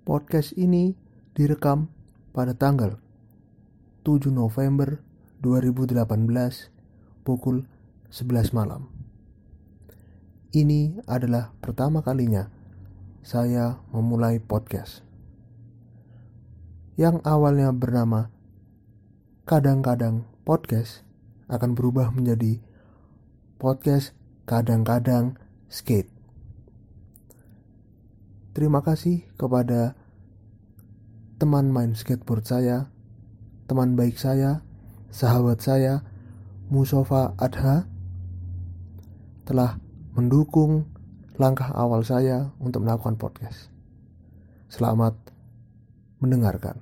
Podcast ini direkam pada tanggal 7 November 2018 pukul 11 malam. Ini adalah pertama kalinya saya memulai podcast yang awalnya bernama Kadang-kadang Podcast akan berubah menjadi Podcast Kadang-kadang Skate. Terima kasih kepada teman main skateboard saya, teman baik saya, sahabat saya, Mustafa Adha, telah mendukung langkah awal saya untuk melakukan podcast. Selamat mendengarkan.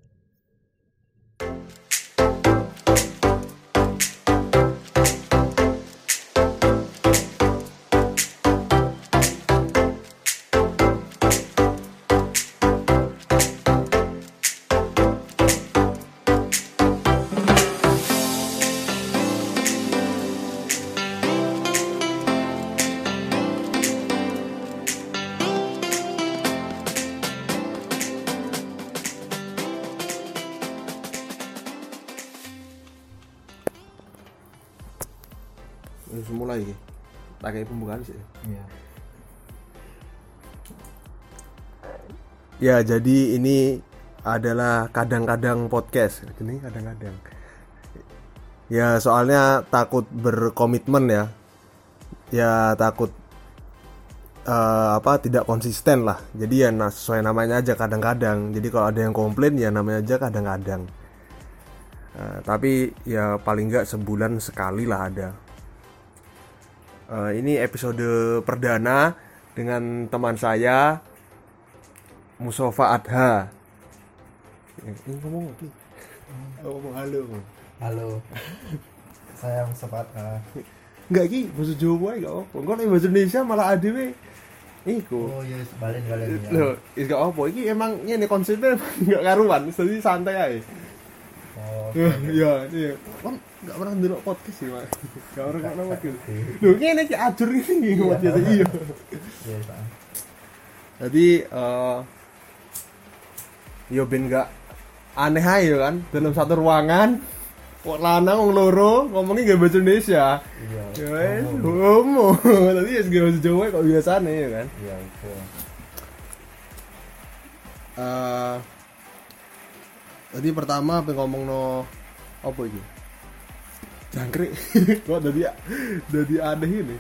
Mulai tak kayak pembukaan sih. Iya. Ya, jadi ini adalah kadang-kadang podcast. Ini kadang-kadang. Ya, soalnya takut berkomitmen ya. Ya, takut tidak konsisten lah. Jadi ya sesuai namanya aja kadang-kadang. Jadi kalau ada yang komplain ya namanya aja kadang-kadang. Tapi ya paling enggak sebulan sekali lah ada. Ini episode perdana dengan teman saya Mustafa Adha. Ini ngomong apa? Ngomong halo. Halo. Saya Mustafa. Enggak iki bahasa Jawa enggak apa. Engko nek bahasa Indonesia malah adewe iku. Oh iya, balen ya. Loh, is gak apa. Iki emang ngene konsepnya enggak karuan, jadi santai ae. Oh. Iya. Kan enggak pernah ndelok podcast sih, Mas. Enggak pernah ndelok podcast. Lho, ngene iki ajur ini podcast iya. Iya, Pak. Jadi yo ben enggak aneh aja kan dalam satu ruangan kok lanang wong loro ngomongnya gak bahasa Indonesia. Iya. Ya wes, homo. Tadi ya segala bahasa Jawa kok biasane ya kan. Iya, itu. Tadi pertama apa ngomongno apa iki? Jangkrik. Kok dadi aneh ini.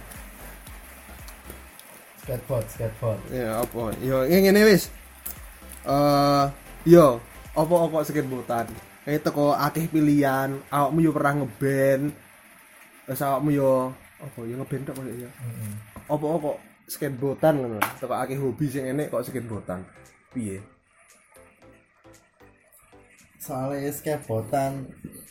Skateboard. Ya apa? Yo ngene wis. Yo apa kok skateboardan? Kayak teko akeh pilihan, awakmu yo pernah ngeband. Terus awakmu yo apa yo ngeband tok kok ya. Heeh. Apa kok skateboardan ngono. Teko akeh hobi sing enek kok skateboardan. Piye? Soalnya skateboardan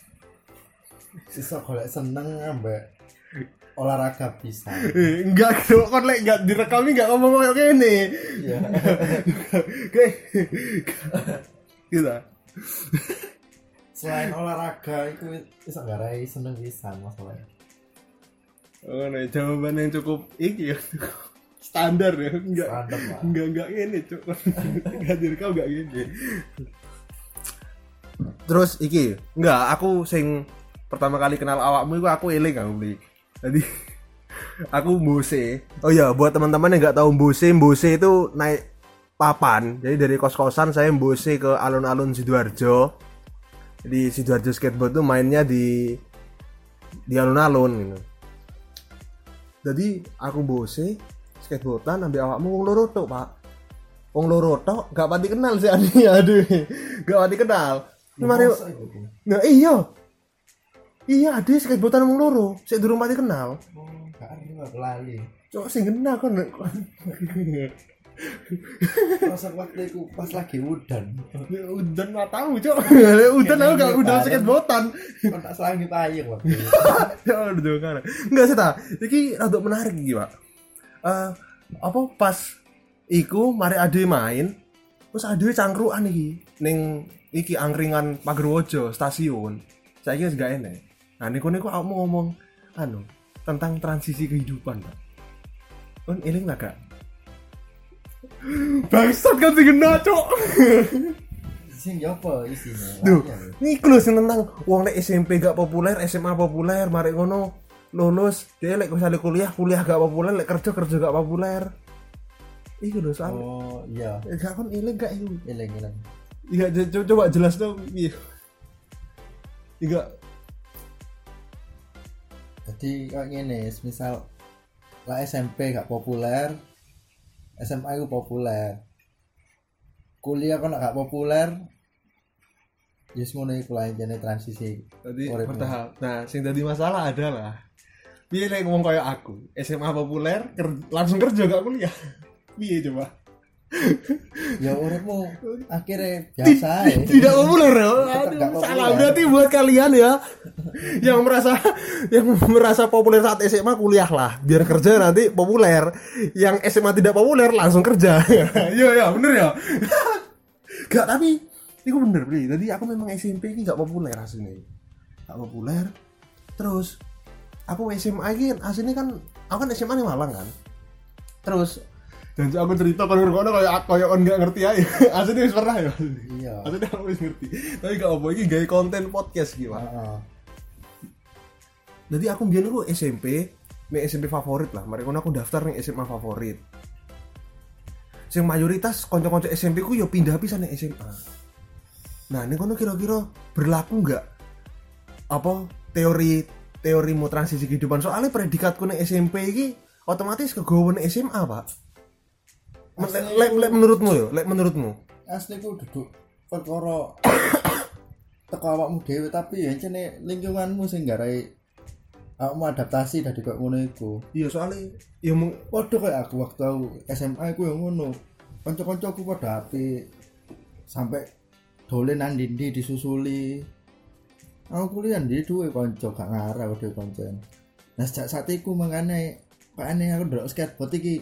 sisa golek seneng ambek olahraga bisa. Enggak, kon lek enggak direkam enggak ngomong koyo kene. Iya. Oke. Gitu. Selain olahraga itu bisa ngarai seneng bisa masalahnya. Oh, nah, jawaban yang cukup iki ya. Standar ya, enggak. Standar lah. Enggak ngene, Cuk. Enggak direkam enggak ngene. Terus iki, enggak, aku sing pertama kali kenal awakmu itu aku eling kan beli. Jadi aku Mbose. Oh ya, buat teman-teman yang enggak tahu Mbose itu naik papan. Jadi dari kos-kosan saya Mbose ke alun-alun Sidoarjo. Jadi Sidoarjo skateboard tuh mainnya di alun-alun gitu. Jadi aku Mbose skateboardan ambil awakmu wong loro tok, Pak. Wong loro tok gak pati kenal sih aduh. Gak pati kenal. Mari. Nah, iya ada skateboardan wong loro, sik durung pati kenal. Oh, gak lali. Cok sing kenal kon. Masa waktu itu pas lagi udan. Udan enggak tahu, Cok. Udan aku gak udan skateboardan. Kon tak selangi payung waktu itu. Ya udah kan. Enggak sih ta. Iki rada menarik iki, Pak. Apa pas iku mari ade main, terus ade cangkrukan iki ning iki angkringan Pagerwojo stasiun. Saiki wis gak enek. Nah niku aku mau ngomong tentang transisi kehidupan, Pak. Kon eling enggak? Bangsat kan sing kena, Cok. Sing yo apa isine? Duh, iki lho sing tentang wong nek SMP gak populer, SMA populer, mari ngono lulus, dia lek misalnya kuliah gak populer, lek kerja gak populer. Iku lho soal. Oh, iya. Gak kon ilang gak iku. Ilang. Iya, coba jelas dong. Iya. Iya. Jadi kayak gini, misal lah SMP gak populer, SMA itu populer, kuliah kan gak populer, ya semuanya itu lah jadi transisi. Tadi uripmu. bertahap. Nah, sing tadi masalah adalah piye lek ngomong kayak aku, SMA populer, langsung kerja gak kuliah. Piye coba? Ya uripmu akhirnya biasa ya. Tidak populer ya. Tetap Aduh, gak populer. salah berarti buat kalian ya yang merasa populer saat SMA kuliah lah, biar kerja nanti populer. Yang SMA tidak populer langsung kerja. Iya bener ya. Gak, tapi itu bener Bri. Tadi aku memang SMP ini gak populer aslinya. Gak populer. Terus aku SMA ini aslinya kan aku kan SMA di Malang kan. Terus dan aku cerita kan ngono kayak on gak ngerti aja. Aslinya wis pernah ya. Iya. Aslinya aku wis ngerti. Tapi gak apa iki gawe konten podcast gitu. Heeh. Jadi aku biyen aku SMP favorit lah. Mari ngono aku daftar ning SMA favorit. Sing mayoritas kanca-kanca SMP ku yo pindah pisan ning SMA. Nah, ning kono kira-kira berlaku enggak apa teorimu transisi kehidupan? Soalnya predikatku ning SMP iki otomatis kegowo ning SMA, Pak. Lek menurutmu? Asli ku duduk perkara teko awakmu dhewe, tapi ya jane lingkunganmu sing garai awakmu adaptasi dari kok ngono iku. Iya, soalnya ya Padha kayak aku waktu aku SMA ku yang ngono. Kanca-kancaku padha apik. Sampai dolen nang ndi disusuli. Aku kuliah ndi duwe kanca gak ngarah dhewe kanca. Nah, sejak saat iku mangane pakane aku ndelok skateboard iki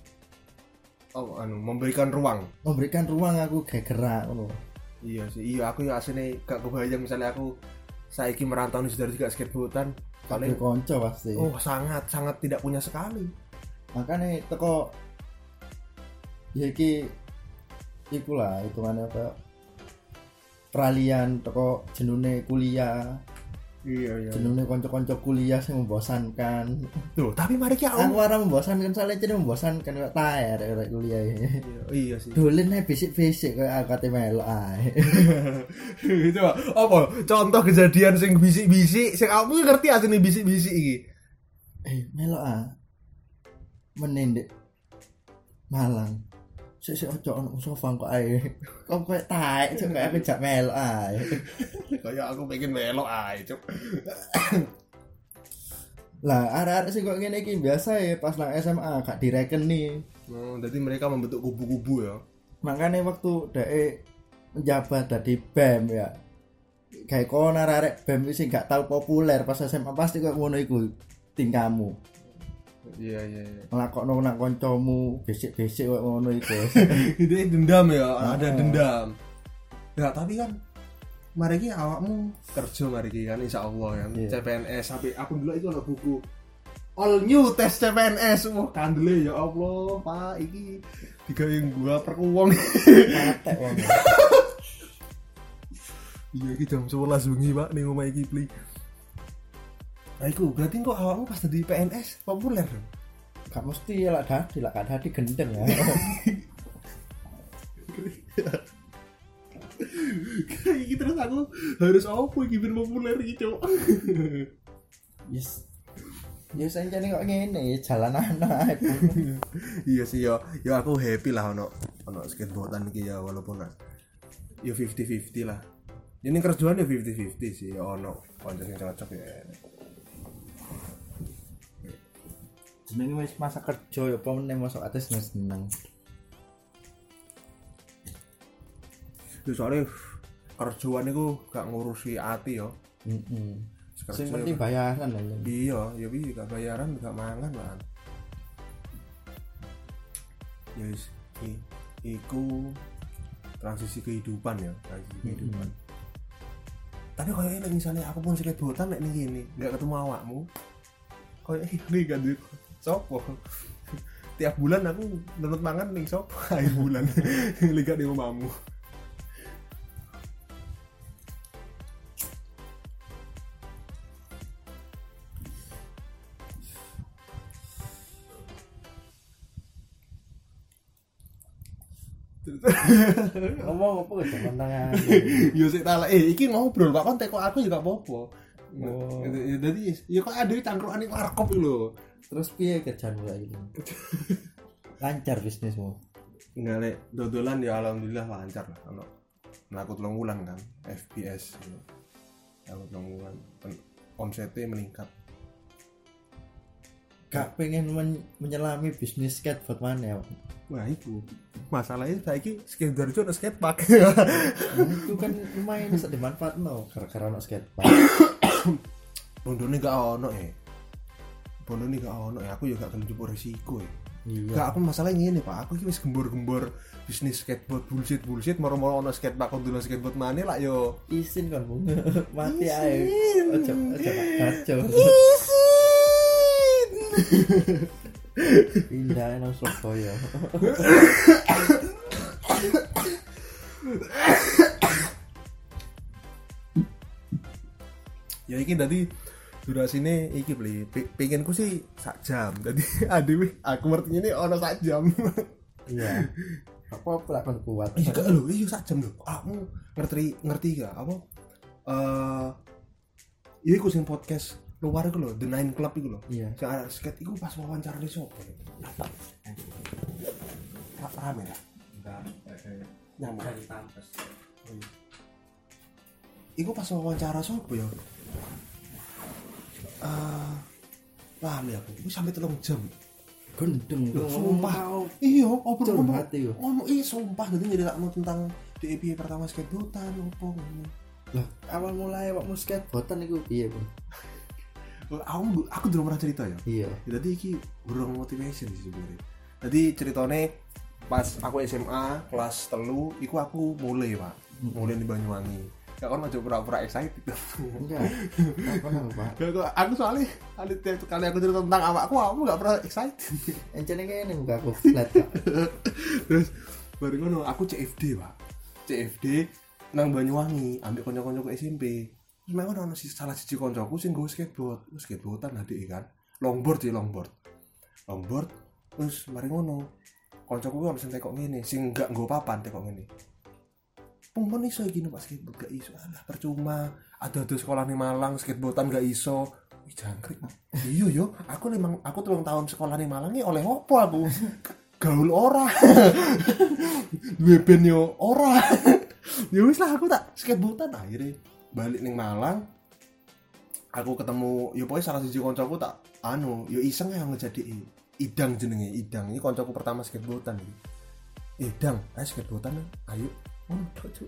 memberikan ruang. Aku gak gerak ngono. Iya sih, iya aku ya aslinya gak kebayang misalnya aku saiki merantau nih sudah juga skateboardan Paling kanca pasti. Oh, sangat tidak punya sekali. Makanya teko ya iki ikulah hitungannya apa peralihan teko jenune kuliah. Iya. Jenenge kanca-kanca kuliah sing membosankan. Loh, tapi mari ki Aku ora membosankan, soalnya jenenge membosankan kaya tae arek kuliah iki. Iya sih. Dolen ae bisik-bisik kaya akate melok ae. Itu apa? Contoh kejadian sing bisik-bisik, sing aku ngerti asline bisik-bisik iki. Melok ah. Menendek Malang. Sik ojo ono sofa kok ae. Kok koyo tae, cuk kaya aku jak melok ae. Kayak aku pengen melok ae, Cuk. Lah, arek-arek sing kok ngene iki biasa ya pas nang SMA gak direkeni. Oh, jadi mereka membentuk kubu-kubu ya. Makanya waktu dhek menjabat dadi BEM ya. Kayak kono arek BEM sing gak tau populer pas SMA pasti kok ngono iku tingkahmu. Iya. Nglakokno nang kancamu besik-besik kok ngono iku. Itu dendam ya, ada dendam. Ya, tapi kan mari ki awakmu kerja mari ki kan insyaallah kan. Yeah. CPNS sampai aku dulu itu ada buku All New Test CPNS. Wah, kandele ya Allah, Pak, iki digawe gua perkuwong. Patek wong. Iya, iki jam 11 bengi, Pak, ning omah iki pli. Nah, iku berarti kok awakmu pas di PNS populer dong. Gak mesti lah dadi gendeng ya. Iki terus aku harus apa iki ben populer iki, Cuk. Yes. Ya sancane kok ngene jalanan ae. Iya sih ya aku happy lah ono skateboardan iki ya walaupun ya 50-50 lah. Ini kerjaan ya 50-50 sih ono kanca sing cocok ya. Jenenge wis masa kerja ya apa meneh mosok ate seneng. Ya soalnya kerjaan itu gak ngurusi hati ya. Sing penting bayaran lah. Iya, ya bi gak bayaran gak mangan lah. Ya wis iku transisi kehidupan ya, kehidupan. Tapi kayaknya misalnya aku pun skateboardan nek ning ngene, gak ketemu awakmu. Kayak ini kan sopo. tiap bulan aku nurut mangan ning sop akhir bulan. Liga di omahmu. Ngomong apa jaman tangan. Yo sik tak iki ngobrol Pak kon teko aku juga apa-apa. Oh. Jadi ya kok ada cangkrukan iki warkop iki lho. Terus piye kerjaanmu lagi? Lancar bisnismu? Enggak lek dodolan ya alhamdulillah lancar lah ono. Mlaku 3 bulan kan FPS. Aku 3 bulan omsetnya meningkat. Gak pengen menyelami bisnis skateboard mana ya? Wah itu masalahnya saiki skateboard ono skatepark. Itu kan lumayan bisa dimanfaatno gara-gara ono skatepark. Bondone gak ono Bondone gak ono aku juga gak gelem njupuk resiko Iya. Gak aku masalahnya ngene Pak, aku iki wis gembor-gembor bisnis skateboard bullshit moro-moro ono skatepark kok dulu skateboard maneh lak yo. Isin kan Bung. Mati ae. Ojo kacau. Pindah nang Surabaya. Ya iki tadi durasine iki beli pengenku sih sak jam. Jadi aduh aku ngerti ini ono sak jam. Iya. Apa kan kuat. Iya gak lho, iya sak jam lho. Aku ngerti gak apa? Iya iku sing podcast luar iku lho, The Nine Club iku lho. Iya. Sing arek skate iku pas wawancara di sopo. Rame ya? Enggak. Nyamuk di tampes. Iku pas wawancara sopo ya? Lali aku. Iku sampai 3 jam. Gendeng Loh, sumpah. Iya, Curhat hati yo. ngomong sumpah dadi nyeritakno tentang DEP pertama skateboardan opo ngono. Lah, awal mulai awakmu skateboardan iku piye, Bung? Aku belum pernah cerita ya. Iya. Jadi iki burung motivation sih sebenarnya. Jadi ceritanya pas aku SMA kelas 3 iku aku mulai Pak. Mulai di Banyuwangi. Ya kan aja pura-pura excited. Enggak. Apa nang, Pak? Aku soalnya tiap kali aku cerita tentang awakku enggak pernah excited. Encene kene muka aku flat, Pak. Terus baru ngono aku CFD Pak. CFD nang Banyuwangi ambek kanca-kancaku SMP. Terus memang ono salah siji kancaku sing nggo skateboard. Terus skateboardan adike kan. Longboard. Terus mari ngono. Kancaku ono sing tekok ngene, sing enggak nggo papan tekok ngene. Pun iso iki numpak skateboard gak iso. Alah percuma. Ada sekolah di Malang skateboardan gak iso. Wih jangkrik. Iya yo, aku 3 tahun sekolah di Malang iki oleh opo aku? Gaul ora. Duwe ben yo ora. Ya wis lah aku tak skateboardan akhirnya balik ning Malang. Aku ketemu yo pokoknya salah siji kancaku tak yo iseng ya ngejadi Idang jenenge Idang. Ini kancaku pertama skateboardan iki. Idang, ayo skateboardan ayo. Cuk.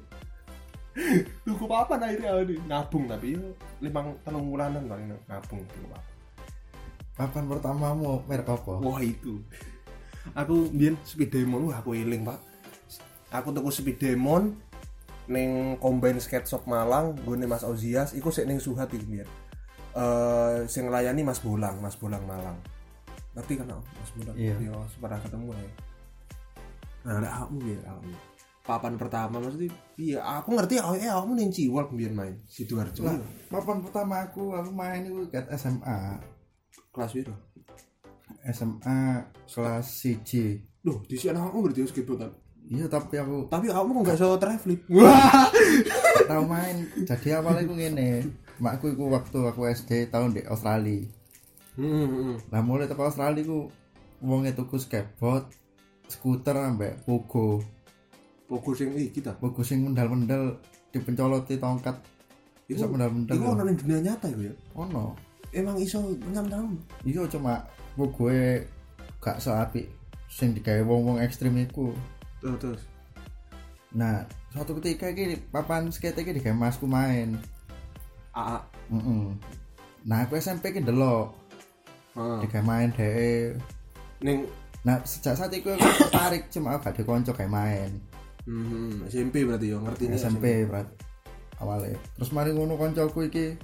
Tuku papan akhirnya nabung tapi yo 3 bulanan kali nabung tuku papan. Papan pertamamu merek apa? Wah itu. Aku mbiyen Speed Demon aku eling, Pak. Aku tuku Speed Demon ning Combine Skate Shop Malang, gone Mas Ozias, iku sik ning Suhat iki mbiyen. Sing nglayani Mas Bolang Malang. Ngerti kan Mas Bolang? Iya. Yo pernah ketemu ya. Nah, aku ya. Papan pertama maksudnya iya aku ngerti kamu ning Ciwalk mbiyen main Sidoarjo. Lah, papan pertama aku main itu kat SMA. Kelas piro? SMA kelas 1. Loh, di sini aku berarti skateboardan. Iya, tapi aku kamu enggak iso traveling. tahu main. Jadi awalnya aku ngene. Makku iku waktu aku SD tahun di Australia. Lah mulai teko Australia ku wonge tuku skateboard, skuter ambek pogo. Pogo sing kita. Pogo sing mendal-mendal dipencoloti tongkat. Iso mendal-mendal. Iku ono ning dunia nyata iku ya. Ono. Emang iso nyam-nyam. Iya cuma pogoe gak seapik sing digawe wong-wong ekstrim iku. Terus. Nah, suatu ketika iki papan skate iki digawe masku main. AA. Nah, aku SMP ki ndelok. Digawe main dhek. Ning Nah, sejak saat itu aku tertarik cuma aku gak dikonco kayak main. SMP berarti yo ngerti SMP berarti awalnya. Terus mari ngono koncoku iki.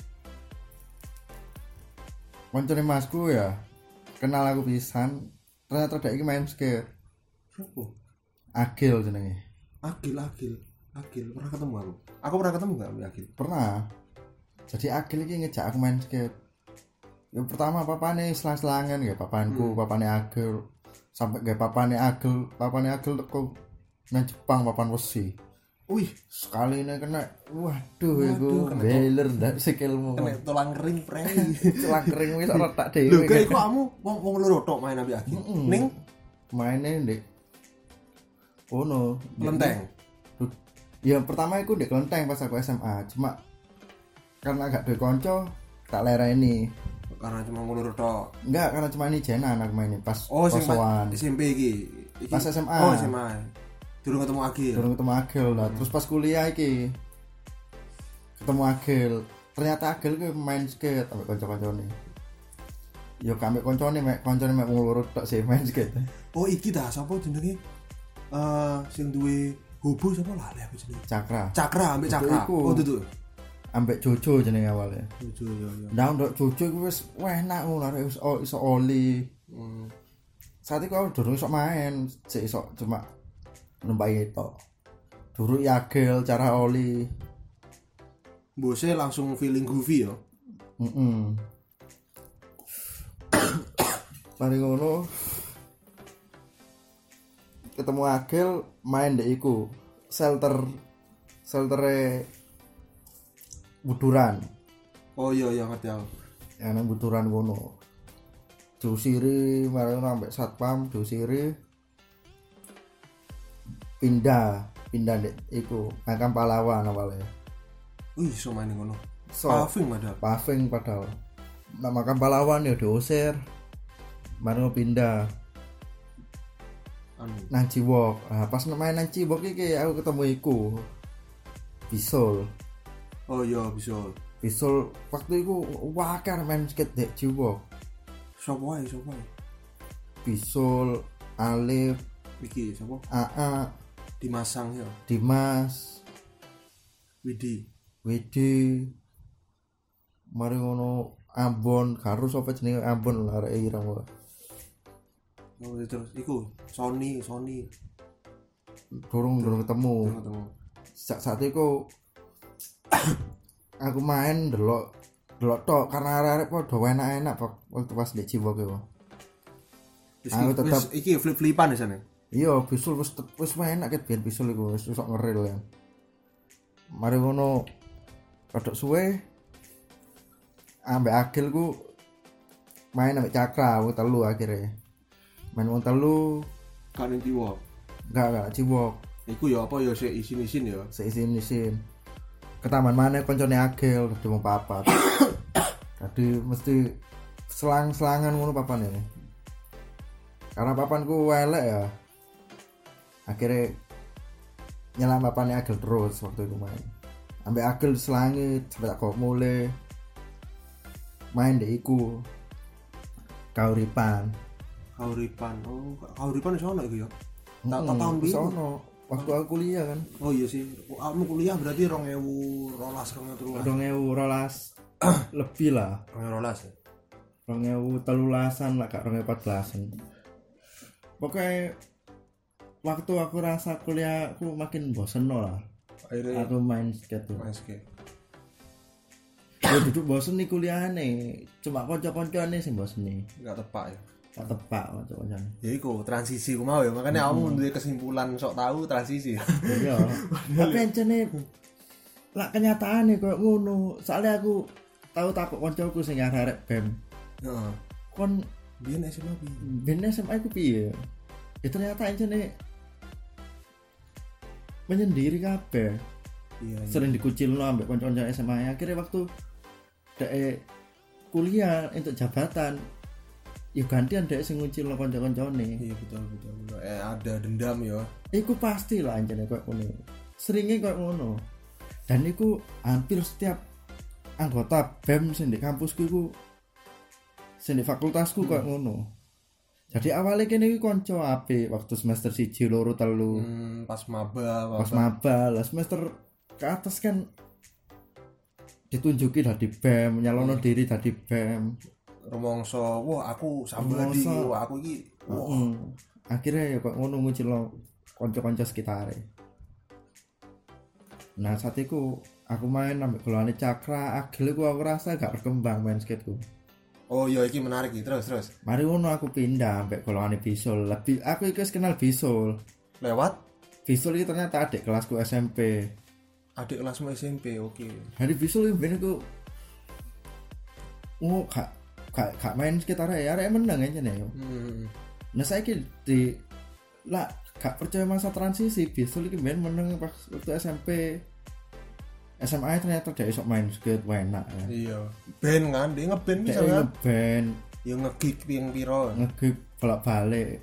Koncone masku ya kenal aku pisan ternyata dek iki main skate. Sopo? Agil jenenge. Agil. Pernah ketemu aku. Aku pernah ketemu enggak sama Agil? Pernah. Jadi Agil iki ngejak aku main skate. Yang pertama papane selang-selangan ya papanku, papane Agil. Sampai gak papane Agil teko nang Jepang papan wesi. Wih, Sekali ini kena waduh iku beler ndak sikilmu. kena tulang kering prei. Tulang kering wis ora tak Lho, dhewe. kayak iku kamu wong loro tok main ambek Agil. Ning Maine ndek ono Lenteng. Ya pertama iku ndek Kelenteng pas aku SMA. Cuma karena gak duwe kanca tak lereni. Karena cuma loro tok. Enggak, karena cuma ini jenan aku mainin pas Oh, sing kosoan. SMP iki. Pas SMA. Oh, SMA. Durung ketemu Agil. Durung ketemu Agil lah. Terus pas kuliah iki ketemu Agil. Ternyata Agil ku main skate ambek kanca-kancane. Ya gak ambek kancane mek wong loro tok sih main skate. Oh, iki dah sapa jenenge? Sing duwe hobo sapa lali aku jenenge. Cakra ambek Cakra. Iku. Oh, tutu. Ambek Jojo jenenge awalnya. Jojo ya. Nah, ndok Jojo iku wis enak ngono arek iso oli. Saat itu aku durung iso main, sik iso cuma numpai tok. Durung Agil cara oli. Bose langsung feeling goofy ya. Mari ngono ketemu Agil main dek iku sheltere Buduran. Oh iya ngerti aku. Ya nang Buduran ngono. Diusiri mari sampai satpam diusiri pindah dek iku makam pahlawan awalnya. Wih, so main ngono. So, paving padahal. Nah, makam pahlawan ya diusir. Mari pindah nang Ciwok. Nah, pas main nang Ciwok iki aku ketemu iku Bisul. Oh iya, Bisul waktu iku wakar main skate dek Ciwok. Sopo ae? Bisul, Alif, Iki sapa? AA, Dimasang ya. Dimas, Widi. Mari ngono Ambon, karo sapa jenenge Ambon arek irang ora. Oh, terus iku Sony. Durung ketemu. Saat itu aku main delok tok karena arek padha enak-enak waktu pas di Ciwok iku. Aku tetap iki flip-flipan di sana. Iya, Bisul wis enak ket biyen Bisul iku wis sok ngeril ya. Mari ngono padha suwe ambek Agil ku main ambek Cakra aku telu akhirnya. Main wong telu Kan Ciwok. Enggak Ciwok. Iku ya apa ya sik isin-isin ya. Seisin. Ke taman mana koncone Agil dadi wong papat. Jadi mesti selang-selangan ngono papane. Karena papanku elek ya. Akhirnya nyelang papane Agil terus waktu itu main. Ambek Agil selangit sampai tak kok mulai main deh iku Kauripan. Oh, Kauripan iso ono iku ya. Tak tahun iso ono. Waktu aku kuliah kan. Oh iya sih. Kamu kuliah berarti 2012 lebih lah. 2012 ya. 2013an lah kak 2014an. Pokoknya waktu aku rasa kuliah aku makin bosen lah. Akhirnya aku main skate. Ya duduk bosen nih kuliahane. Cuma kanca-kancane sing bosen nih. Enggak tepak ya. Tak tepak kanca-kancane. Ya iku transisi ku mau ya. Makanya kamu duwe kesimpulan sok tahu transisi. Iya. Tapi encene lak kenyataane koyo ngono. Soalnya aku tahu takut kancaku sing arek BEM. Heeh. Kon biyen SMA piye? Biyen SMA ku piye? Ya ternyata encene menyendiri kabeh. Iya. Sering dikucilno ambek kanca-kanca SMA. Akhirnya waktu dek kuliah untuk jabatan ya gantian dek sing ngucilno kanca-kancane. Iya betul. Ada dendam ya. Iku pasti lah anjene koyo ngono. Seringe koyo ngono. Dan iku hampir setiap anggota BEM sing di kampusku iku sing di fakultasku koyo ngono. Jadi awalnya kene iki kanca apik waktu semester 1, 2, 3. Pas maba Lah semester ke atas kan ditunjuki dadi BEM, nyalono diri dadi BEM. rumangsa wah aku sambadi Rumangsa. wah aku iki Akhirnya ya kok ngono ngucil kanca-kanca sekitare. Nah saat itu aku main ambek golongan Cakra, Agil iku aku rasa gak berkembang main skateku. oh iya iki menarik iki terus Mari ngono aku pindah ambek golongan Bisul. Lebih aku iki wis kenal Bisul. lewat Bisul iki ternyata adik kelasku SMP. adik kelasmu SMP oke. Hari Bisul iki ben aku gak main sekitar ya arek menang aja nih. Nah saiki di lah gak percaya masa transisi Bisul iki ben menang pas waktu SMP. SMA ternyata dia esok main skate enak ya. Iya band kan dia ngeband bisa Dia kan ngeband, ya ngegig ping piro ngegig bolak-balik.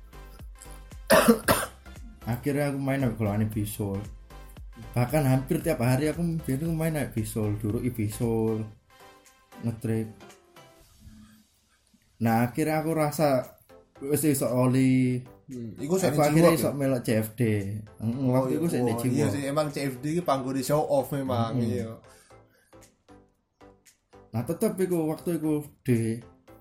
Akhirnya aku main sama golongan Bisul. Bahkan hampir tiap hari aku main sama Bisul, duruki Bisul, ngetrik. Nah akhirnya aku rasa wis iso oli. Iku saya Aku akhirnya iso melok CFD. Waktu itu saya di iya sih emang CFD iki panggo di show off memang iya. Nah tetep iku waktu iku di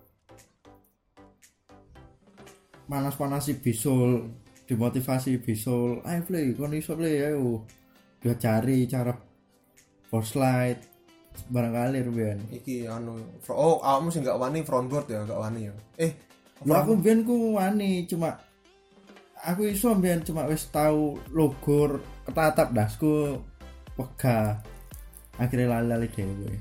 panas-panasi Bisul, dimotivasi Bisul, ayo play, kon iso play ayo. Dia cari cara board slide barangkali Ruben. Iki anu awakmu sih gak wani frontboard ya gak wani ya. Aku ben ku wani cuma aku iso ben cuma wis tahu logo ketatap dasku pegah. Akhirnya lali dhewe.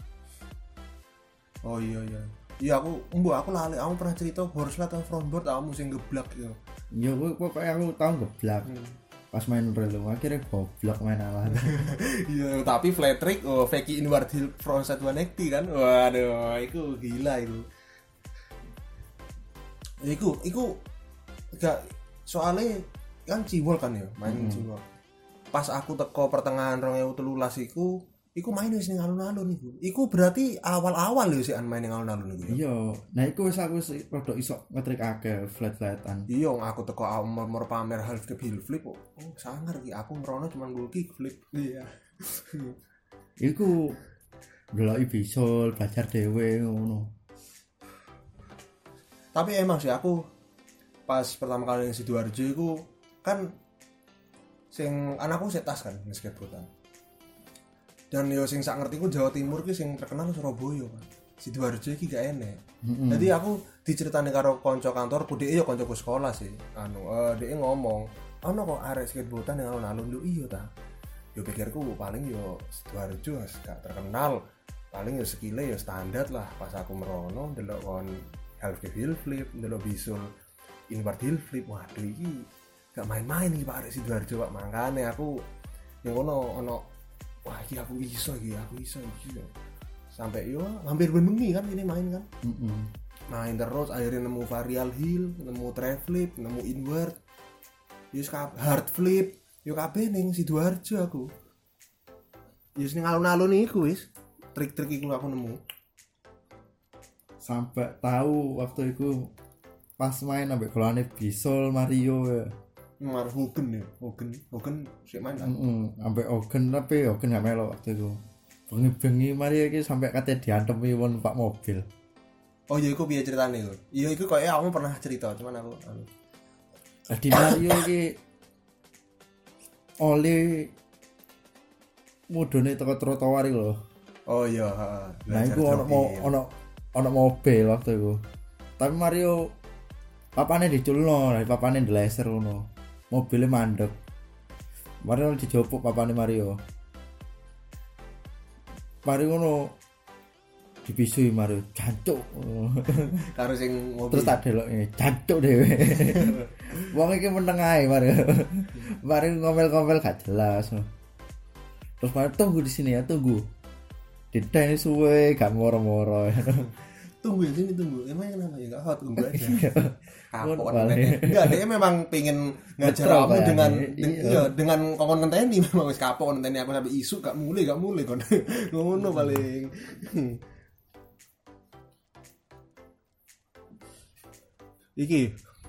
Oh iya aku lali aku pernah cerita board slide atau frontboard awakmu sing geblak ya. Ya pokoknya aku tahu geblak. Pas main relo akhirnya goblok main alah. Iya tapi flat trick Feki inward heel frontside 180 kan waduh itu gila itu. Iku gak soalnya kan cibol kan ya main cibol. Pas aku teko pertengahan 2013 iku main wis ning alun-alun iku. Iku berarti awal-awal ya sih main ning alun-alun iku ya. Iya, nah iku wis aku rada iso ngetrik akeh flat-flatan. Iya aku teko umur pamer half flip heel flip oh sangar iki aku ngrono cuma nggo kick flip. Iya. Iku ndeloki Bisul, belajar dhewe ngono. Tapi emang sih aku pas pertama kali di Sidoarjo iku kan sing anakku setas kan skateboardan. Dan yo sing sak ngertiku Jawa Timur ki sing terkenal Surabaya kan. Sidoarjo iki gak enek. Jadi aku diceritani karo kanca kantorku, dhek yo kancaku sekolah sih. Dhek ngomong, "Ono kok arek skateboardan ning alun-alun." Lho iya ta. Yo pikirku paling yo Sidoarjo gak terkenal. Paling yo skile yo standar lah. Pas aku merono ndelok kon half heel flip, ndelok bisul inward heel flip. Waduh iki gak main-main iki Pak arek Sidoarjo Pak. Mangkane aku yang ono wah iki aku iso iki sampai yo hampir bengi kan ini main kan main terus akhirnya nemu varial heel, nemu tray flip, nemu inward yo hard flip yo kabeh ning Sidoarjo aku yo ning alun-alun iku wis trik-trik iku aku nemu sampai tahu waktu itu pas main ambek golane Bisul Mario ya. Hogan sik main kan. Ambek Hogan tapi Hogan gak melo waktu itu. Bengi-bengi Mario iki sampai kate diantemi wong numpak mobil. Oh iya iku piye ceritane iku? Iya iku koyo aku pernah cerita cuman aku Jadi Mario iki oleh mudune teko trotoar iki lho. Oh iya, Nah iku ono mobil waktu itu. Tapi Mario papane diculno, papane dileser ngono. Mobilnya mandek. Mario dijopuk papane Mario. Mario ngono dibisui Mario, jancuk. karo sing mobil. Terus tak deloke, jancuk dhewe. Wong iki meneng ae Mario. Mario ngomel-ngomel gak jelas. Terus Mario tunggu di sini ya, tunggu. Didane suwe gak moro-moro. Tunggu ya sini tunggu. Emang kenapa ya enggak hot tunggu aja. Kapok Boleh. enggak dia memang pengen ngajar kamu dengan iya dengan kokon ngenteni memang wis kapok ngenteni aku sampai isu gak mulai kon. Ngono paling. Iki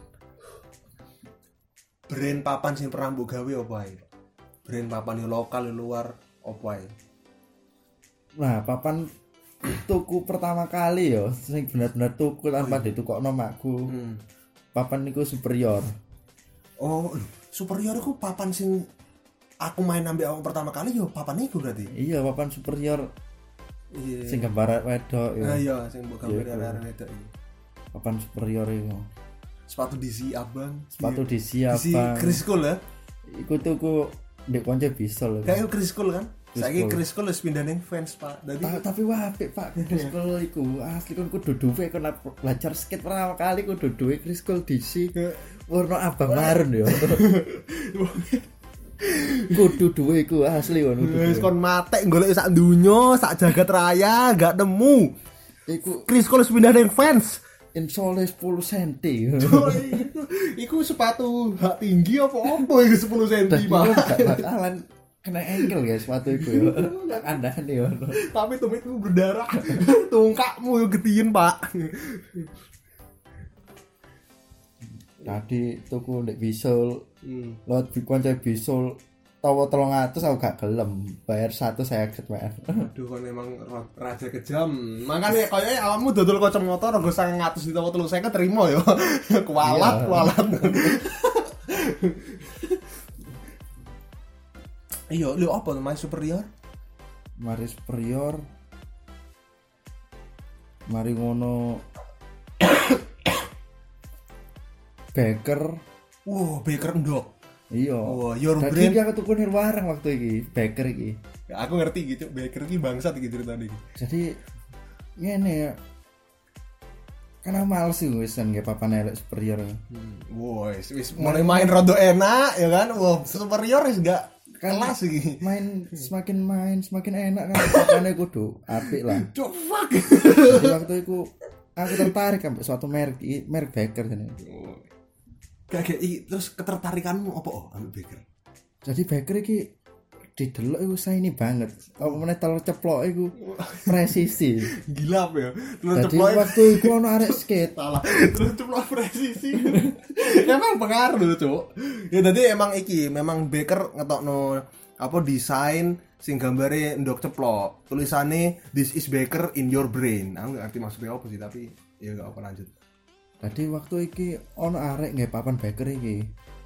brand papan sing pernah mbok gawe apa ae? Brand papan yo lokal yo luar apa ae? Nah, papan tuku pertama kali yo sing bener-bener tuku tanpa ditukokno makku. Papan niku superior. Oh, superior iku papan sing aku main ambek awak pertama kali yo papan iku berarti. Iya, papan superior. Iya. Sing gambar wedok yo. Ah iya, sing mbok gambar arek wedok iki. Papan superior iku. Sepatu DC abang. Sepatu Iya. DC DC abang. Chris Cole ya. Iku tuku ndek konco bisol. Kayak Chris Cole kan. Chris Saiki Cole. Chris Cole wis pindah ning fans, Pak. Dadi Tapi apik Pak Chris Cole iku asli kon kudu duwe kon belajar skate pertama kali kudu duwe Chris Cole DC warna abang marun yo. Kudu duwe iku asli kon. wis kon matek golek sak dunyo, sak jagat raya gak nemu. Iku Chris Cole wis pindah ning fans. insole 10 cm. Iku sepatu hak tinggi apa iku 10 cm, Dadi Pak. gak bakalan kena engkel guys sepatu iku yo. Andane yo. Tapi tumitmu berdarah. Tungkakmu yo getiyen, Pak. Tadi tuku ndek bisul. Lot konco bisul tawa 300 aku gak gelem bayar 150 wae. Aduh kon emang raja kejam. Makane koyoke awakmu dodol kacamata rego 900 ditawa 350 terima yo. Kualat, Iya. kualat. Iya, lho apa main superior? Mari superior. Mari ngono. Baker. Wow, Baker ndok. Iya. Oh, your Dadi brand. aku tuku nir warang waktu iki, Baker iki. Ya, aku ngerti gitu, Baker iki bangsat iki ceritane iki. Jadi ngene ya. Karena males sih wis kan nggih papan elek superior. Wis mulai main rada enak ya kan. Wah, superior wis gak kelas iki. Main semakin enak kan papane kudu apik lah. The fuck. Jadi waktu itu aku tertarik sampai suatu merek Baker ini. Kayak terus ketertarikanmu apa ambil Baker? Jadi Baker iki didelok iku ini banget. Apa meneh telur ceplok iku presisi. Gila apa ya? Terus Jadi ceplok waktu iku ono arek skate. salah. Terus ceplok presisi. Emang pengaruh, Cuk. Ya tadi emang iki, memang Baker ngetokno apa desain sing gambare ndok ceplok. Tulisane this is Baker in your brain. Aku nggak ngerti maksudnya apa sih, tapi ya enggak apa lanjut. Tadi waktu iki ono arek nggih papan Baker iki.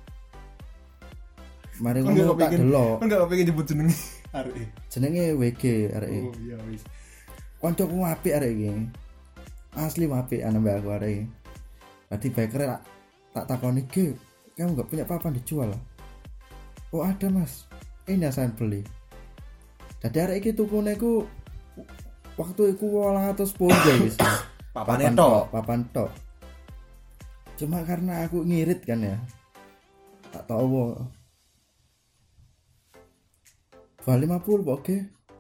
Mari ngono tak delok. Kan enggak kepengin nyebut jenenge arek. Jenenge WG arek iki. Oh iya wis. Koncoku apik arek iki. Asli apik ana mbak aku arek iki. Tadi Baker tak takoni, "Ge, kamu enggak punya papan dijual?" "Oh, ada, Mas. Ini saya beli." Jadi arek iki tukune ku waktu iku 810 guys. Papane tok. Papan tok. Cuma karena aku ngirit kan ya. Tak tahu 250 oke.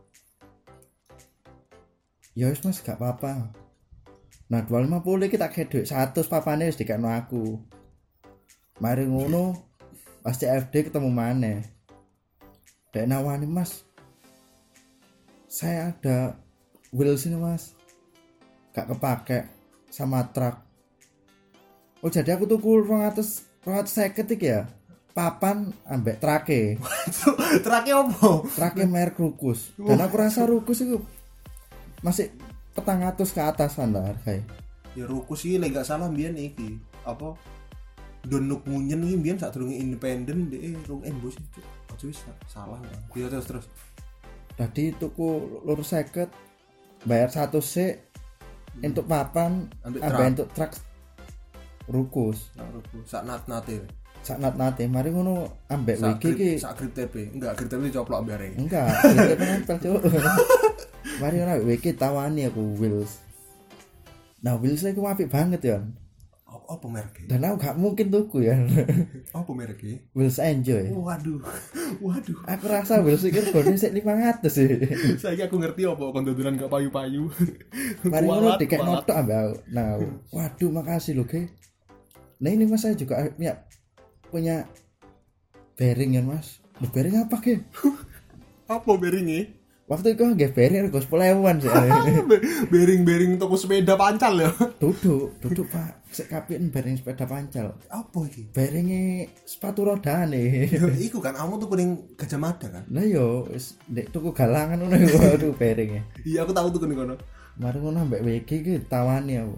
Ya wis Mas gak apa-apa. Nah 250 iki tak kayak duit 100 papane wis dikekno aku. Mari ngono pas CFD ketemu maneh. Dek nawani, "Mas, saya ada wheels ini Mas, gak kepake sama truk." Oh jadi aku tuku 250 iki ya. Papan ambek trake. Terakhir apa? Trake merek Rukus. Dan aku rasa Rukus itu masih 400 ke atasan lah harganya. Ya Rukus iki lek gak salah mbiyen iki. Apa? Donuk Munyen iki mbiyen sadurunge independen dhek rung embos itu. Aja wis salah. Ya terus. Jadi tuku lur 50 bayar 1 sik untuk papan Ambek ambek untuk truk Rukus. Nah, Rukus sak nat-nate. Sak nat-nate mari ngono ambek Sak WG iki. sak grip TP. Enggak, grip TP coplok ambek arek. Enggak, itu penempel cuk. Mari ora WG tawani aku wheels. Nah, wheels iku apik banget ya. Apa mereknya? Dan aku gak mungkin tuku ya. Apa mereknya? Wheels Enjoy. Waduh. Aku rasa wheels iki regane sik 500 sih. Saiki aku ngerti apa kon dodolan gak payu-payu. Mari ngono dikek notok ambek aku. Nah, waduh makasih lho, Ge. Nah, ini Mas saya juga punya bearing ya, Mas. Bearing apa, Ge? Apa bearingnya? Waktu itu nggak bearing rego 10.000-an sih. Bearing toko sepeda pancal ya. Duduk Pak. Sik kapien bearing sepeda pancal. Apa iki? Bearingnya sepatu rodane. Ya iku kan kamu tuh kuning Gajah Mada kan? Lah yo wis ndek tuku galangan ngono iku waduh bearingnya. Iya aku tahu tuh kuning kono. Mari ngono ambek WG iki ditawani aku.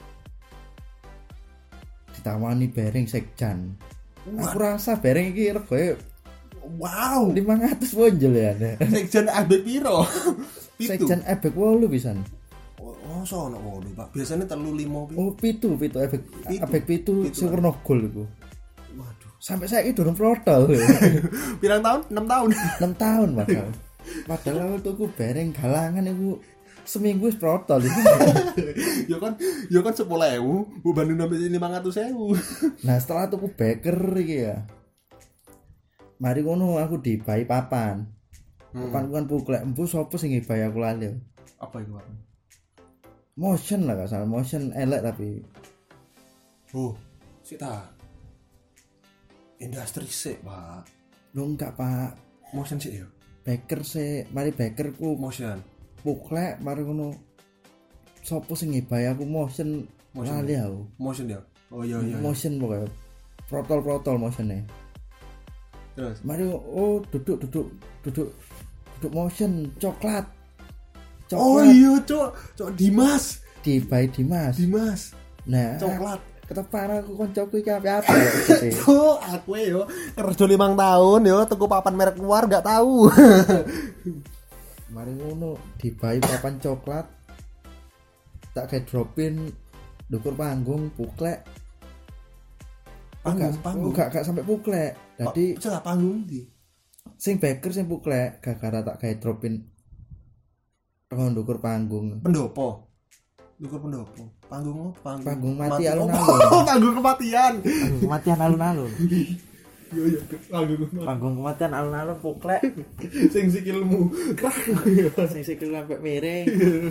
Ditawani bareng sekjan. Aku rasa bareng iki regoe Wow. 500 wonjol ya. Sekjen abek piro? Sekjan ebek 8 pisan. Oh, sono ngono, Pak. Biasanya 3-5 Oh, pitu ebek pitu sing warna gold iku. Waduh. Sampai saiki durung protol. Pirang tahun? 6 tahun. 6 tahun padahal aku tuku bareng galangan iku seminggu wis protol iku. Ya kan 10.000, beban sampai 500.000. Nah, setelah tuku beker iki ya. Mari ngono aku dibai papan. Papan kan puklek empu sapa sing ngibai aku lali. Apa itu, Pak? Motion lah gak salah, motion elek tapi. Oh, sik ta. Industri sik, Pak. Lu enggak, Pak. Motion sik ya. Beker sik, mari bekerku Motion. puklek mari ngono. Sopo sing ngibai aku motion lali aku. Motion ya. Oh iya. Motion pokoknya. Protol motionnya. Terus. Mari duduk motion coklat. Oh iya, Cok Dimas. Dibai Dimas. Nah, Coklat. ketepan aku koncoku iki apa-apa. Oh, aku yo kerja 5 tahun yo tuku papan merek luar gak tahu. Mari ngono dibai papan coklat. Tak kayak dropin dukur panggung puklek. Panggung. Gak sampai puklek. Jadi celah panggung di. Sing beker sing puklek gara-gara tak kayak dropin dukur panggung. Pendopo. Dukur pendopo. Panggung mati alun-alun. Oh, panggung kematian. Panggung kematian alun-alun. Iya, panggung kematian alun-alun puklek. Sing sikilmu. Sing sikil sampai miring.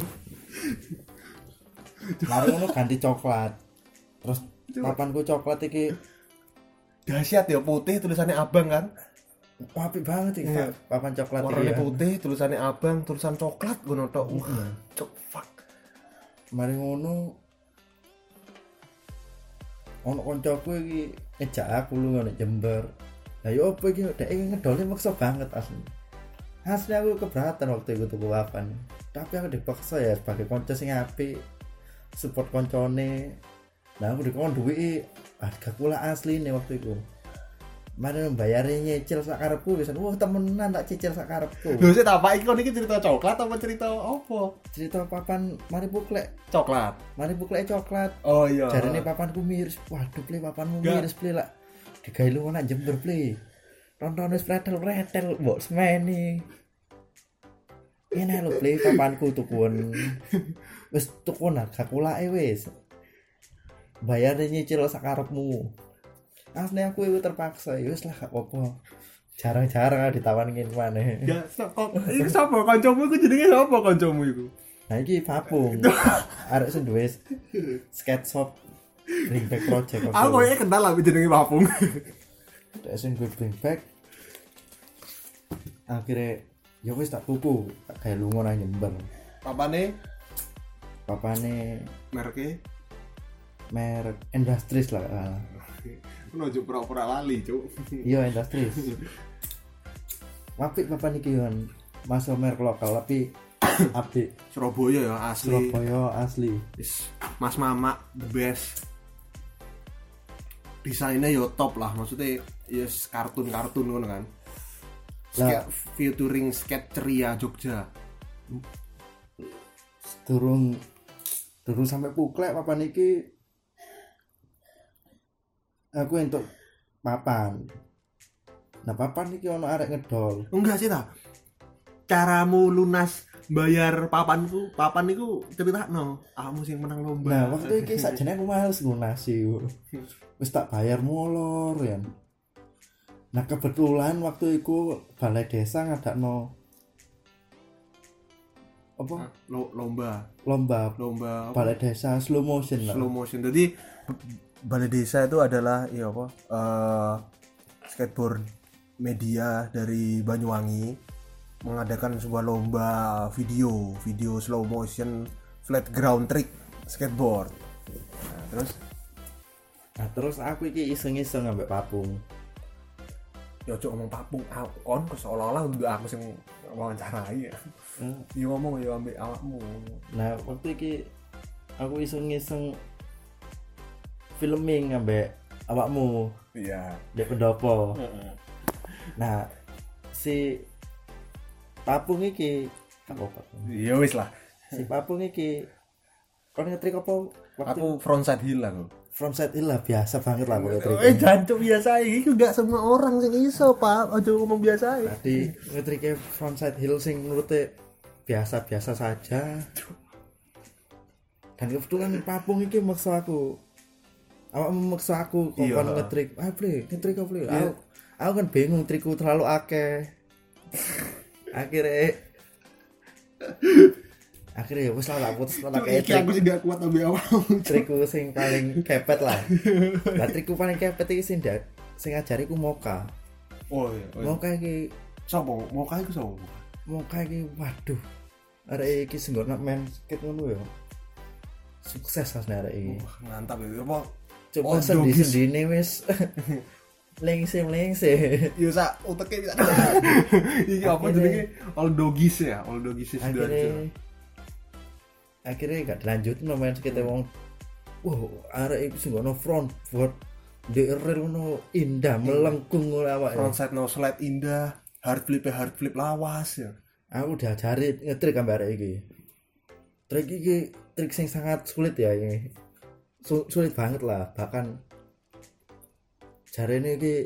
Mari ngono ganti coklat. Terus papanku coklat iki dahsyat ya, putih tulisannya abang kan. Apik banget iki papan coklat iki. Warnanya putih, tulisannya abang, tulisan coklat ngono tok. Fuck. Mari ngono ono koncoku iki ngejak aku lu ngono Jember. Lah yo opo iki dhek ngedole maksa banget asli. Asli aku keberatan waktu itu tuku papan. Tapi aku dipaksa ya sebagai konco sing apik. Support koncone. Nah aku dikon duwe harga kula asline waktu itu. Mari mbayare nyicil sak karepku wis temenan tak cicil sak karepku. Lho sik ta Pak, iki kon iki cerita coklat apa cerita apa? Cerita papan mari puklek Coklat. Mari puklek coklat. Oh iya. Jarene papanku miris. Waduh, Ple papanmu miris, Ple lak. Digawe lu nak Jember, Ple. Tonton wis pretel-pretel mbok semeni. Ini lho Ple papanku tukun. Wis tukun harga kulake wis. Bayar nyicil sak karepmu. Asli aku itu terpaksa, ya wis lah gak apa-apa. Jarang-jarang ditawanin maneh. Ya, iki sapa kancamu iku jenenge sapa kancamu iku? Nah iki Papung. Arek sing duwe skate shop Bring Back Project. Aku koyo kenal lah jenenge Papung. Dek sing Bring Back. Akhirnya ya wis tak tuku, tak gawe lunga nang Jember. Papane merek Industries lah. Ono ojo pura-pura lali, Cuk. Iya, Industries. Apik papan iki kan. Masuk merek lokal tapi apik. Surabaya ya asli. Surabaya asli. Mas Mama the best. Desainnya yo top lah, maksudnya ya kartun-kartun ngono kan. Skate featuring skate ceria Jogja. Durung sampai puklek papan iki. Aku entuk papan. Nah, papan iki ono arek ngedol. Enggak sih ta. Caramu lunas bayar papan niku critakno. Kamu sing menang lomba. Nah, waktu iki sakjane aku males lunasi. Wis tak bayar molor ya. Nah, kebetulan waktu itu balai desa ngadakno apa? Lomba balai desa slow motion lah. Slow motion. Jadi balai desa itu adalah skateboard media dari Banyuwangi mengadakan sebuah lomba video slow motion flat ground trick skateboard. Nah, terus aku iki iseng-iseng ambek Papung. Ya cok ngomong Papung kon seolah-olah aku sing wawancarai ya. Yo ngomong yo ambek awakmu. Nah waktu iki aku iseng-iseng filming ambek awakmu Iya. di pendopo. Nah si Papung iki apa? Ya wis lah. Si Papung iki kon ngetrik apa waktu Aku frontside hill aku. frontside hill lah biasa banget lah pokoknya trik. Jancuk biasa iki enggak semua orang sing iso, Pak. Aja ngomong biasa. Tadi ngetrike frontside hill sing menurutnya biasa-biasa saja. Dan kebetulan Papung iki maksa aku. Awak memaksa aku kok kon ngetrik. Ngetrik apa ble? Aku kan bingung trikku terlalu akeh. Akhirnya wis lah putus tak kayak trik. Aku sih gak kuat ambil awakmu. Trikku sing paling kepet lah. Lah trikku paling kepet iki sing ngajariku Moka. Oh iya. Moka iki Sopo? Mau kae ku sopo? Moka iki waduh. Arek iki sing ngono main skate ngono ya. Sukses asline arek iki. Mantap ya. Apa? Coba sendi-sendine wis lengse. Yo sak uteke bisa. Iki apa jenenge? All doggies ya, all doggies Sidoarjo. Akhirnya gak dilanjut main skate wong. Arek iki sing ngono front board DRR ngono indah melengkung ngono awake. Frontside no slide indah, hard flip lawas ya. Aku diajari ngetrik ambek arek iki. Trik iki trik sing sangat sulit ya ini. Sulit banget lah, bahkan jarene iki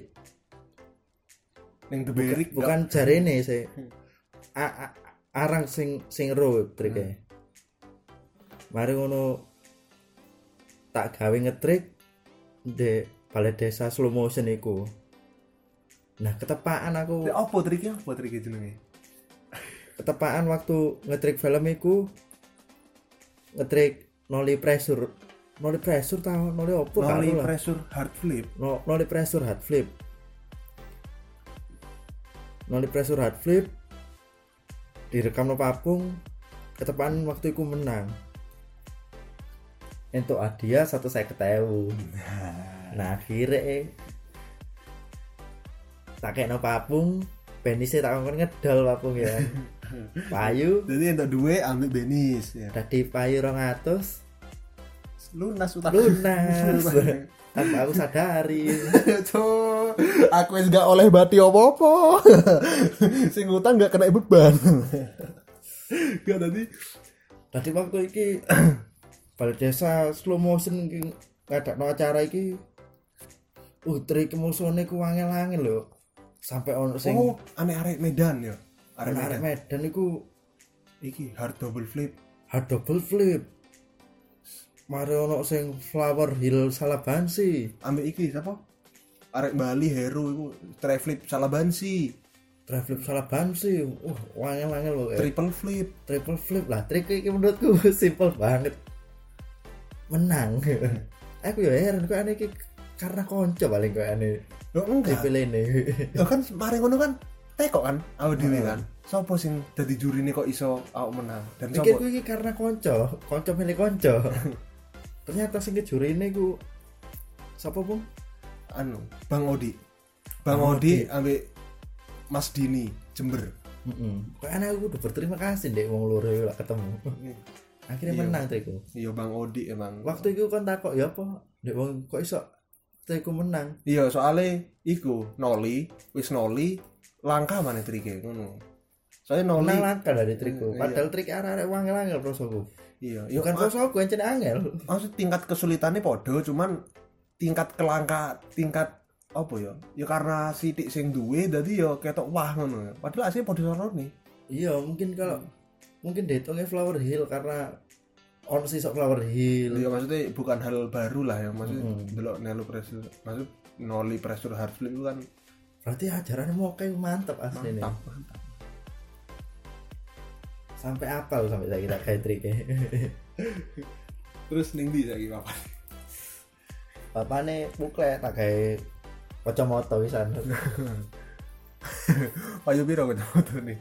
Ning deberik bukan jarene sih. Arang sing ro trike. Mari ngono tak gawe ngetrik di balai desa slow motion iku. Nah, ketepaan aku. Apa triknya? Apa triknya jenenge? Ketepaan waktu ngetrik film iku ngetrik nollie pressure tau nollie opo kan Nollie pressure hard flip. Nollie pressure hard flip. Nollie pressure hard flip direkam no Papung. Ketepaan waktu iku menang. Entuk hadiah 150.000. Nah akhirnya tak kena Papung, penisnya tak ngomong ngedol Papung ya. Payu. Jadi entuk duwe ambil benis ya. Tadi payu 200. Lunas utang. Lunas. Tanpa aku sadari. Cuk, aku wis gak oleh bati apa-apa. Sing utang gak kena beban. Gak tadi waktu iki balai desa slow motion iki ngadakno acara iki. Trik musuhane ku angel-angel lho. Sampai ono sing arek Medan ya. Arek Medan iku iki hard double flip. Mari ono sing flower hill Salabansi. Ambek iki siapa? Arek Bali Heru iku try flip Salabansi. Angel-angel lho. Triple flip lah. Trik iki menurutku simple banget. Menang. Aku ya heran kok ane iki karena konco paling kok ane. Lho enggak. Dipilihne. Lho kan mari ngono kan teko kan awak dhewe kan. Sopo sing dadi jurine kok iso awak menang? Dan sopo? Iki karena konco milih konco. Ternyata sing jurine ku sapa, Bung? Bang Odi. Bang Odi ambek Mas Dini Jember. Kok ana aku udah berterima kasih ndek wong loro lah ketemu. Akhirnya menang triku. Iya Bang Odi emang. Waktu itu kan takok ya apa? Ndek wong kok iso triku menang. Iya, soalnya iku noli langka mana trike ngono. Soalnya noli langka dari trikku. Padahal trik arek wangel-wangel prosoku. Iya, bukan prosoku encen angel. Maksud tingkat kesulitannya podo, cuman tingkat apa ya? Ya karena sithik sing duwe dadi ya ketok wah ngono. Padahal asline podo sarone. Iya, mungkin kalau mungkin dihitungnya Flower Hill karena on sih sok Flower Hill. Iya, maksudnya bukan hal baru lah ya, maksudnya delok nelu pressure, maksud nollie pressure hard flip itu kan berarti ajarannya mau kayak mantap asli nih. Mantap. Sampai apal sampai saya kita kayak triknya. Terus ning ndi saiki papan? Papane buklet tak kayak kacamata wisan. Payu piro kacamata nih?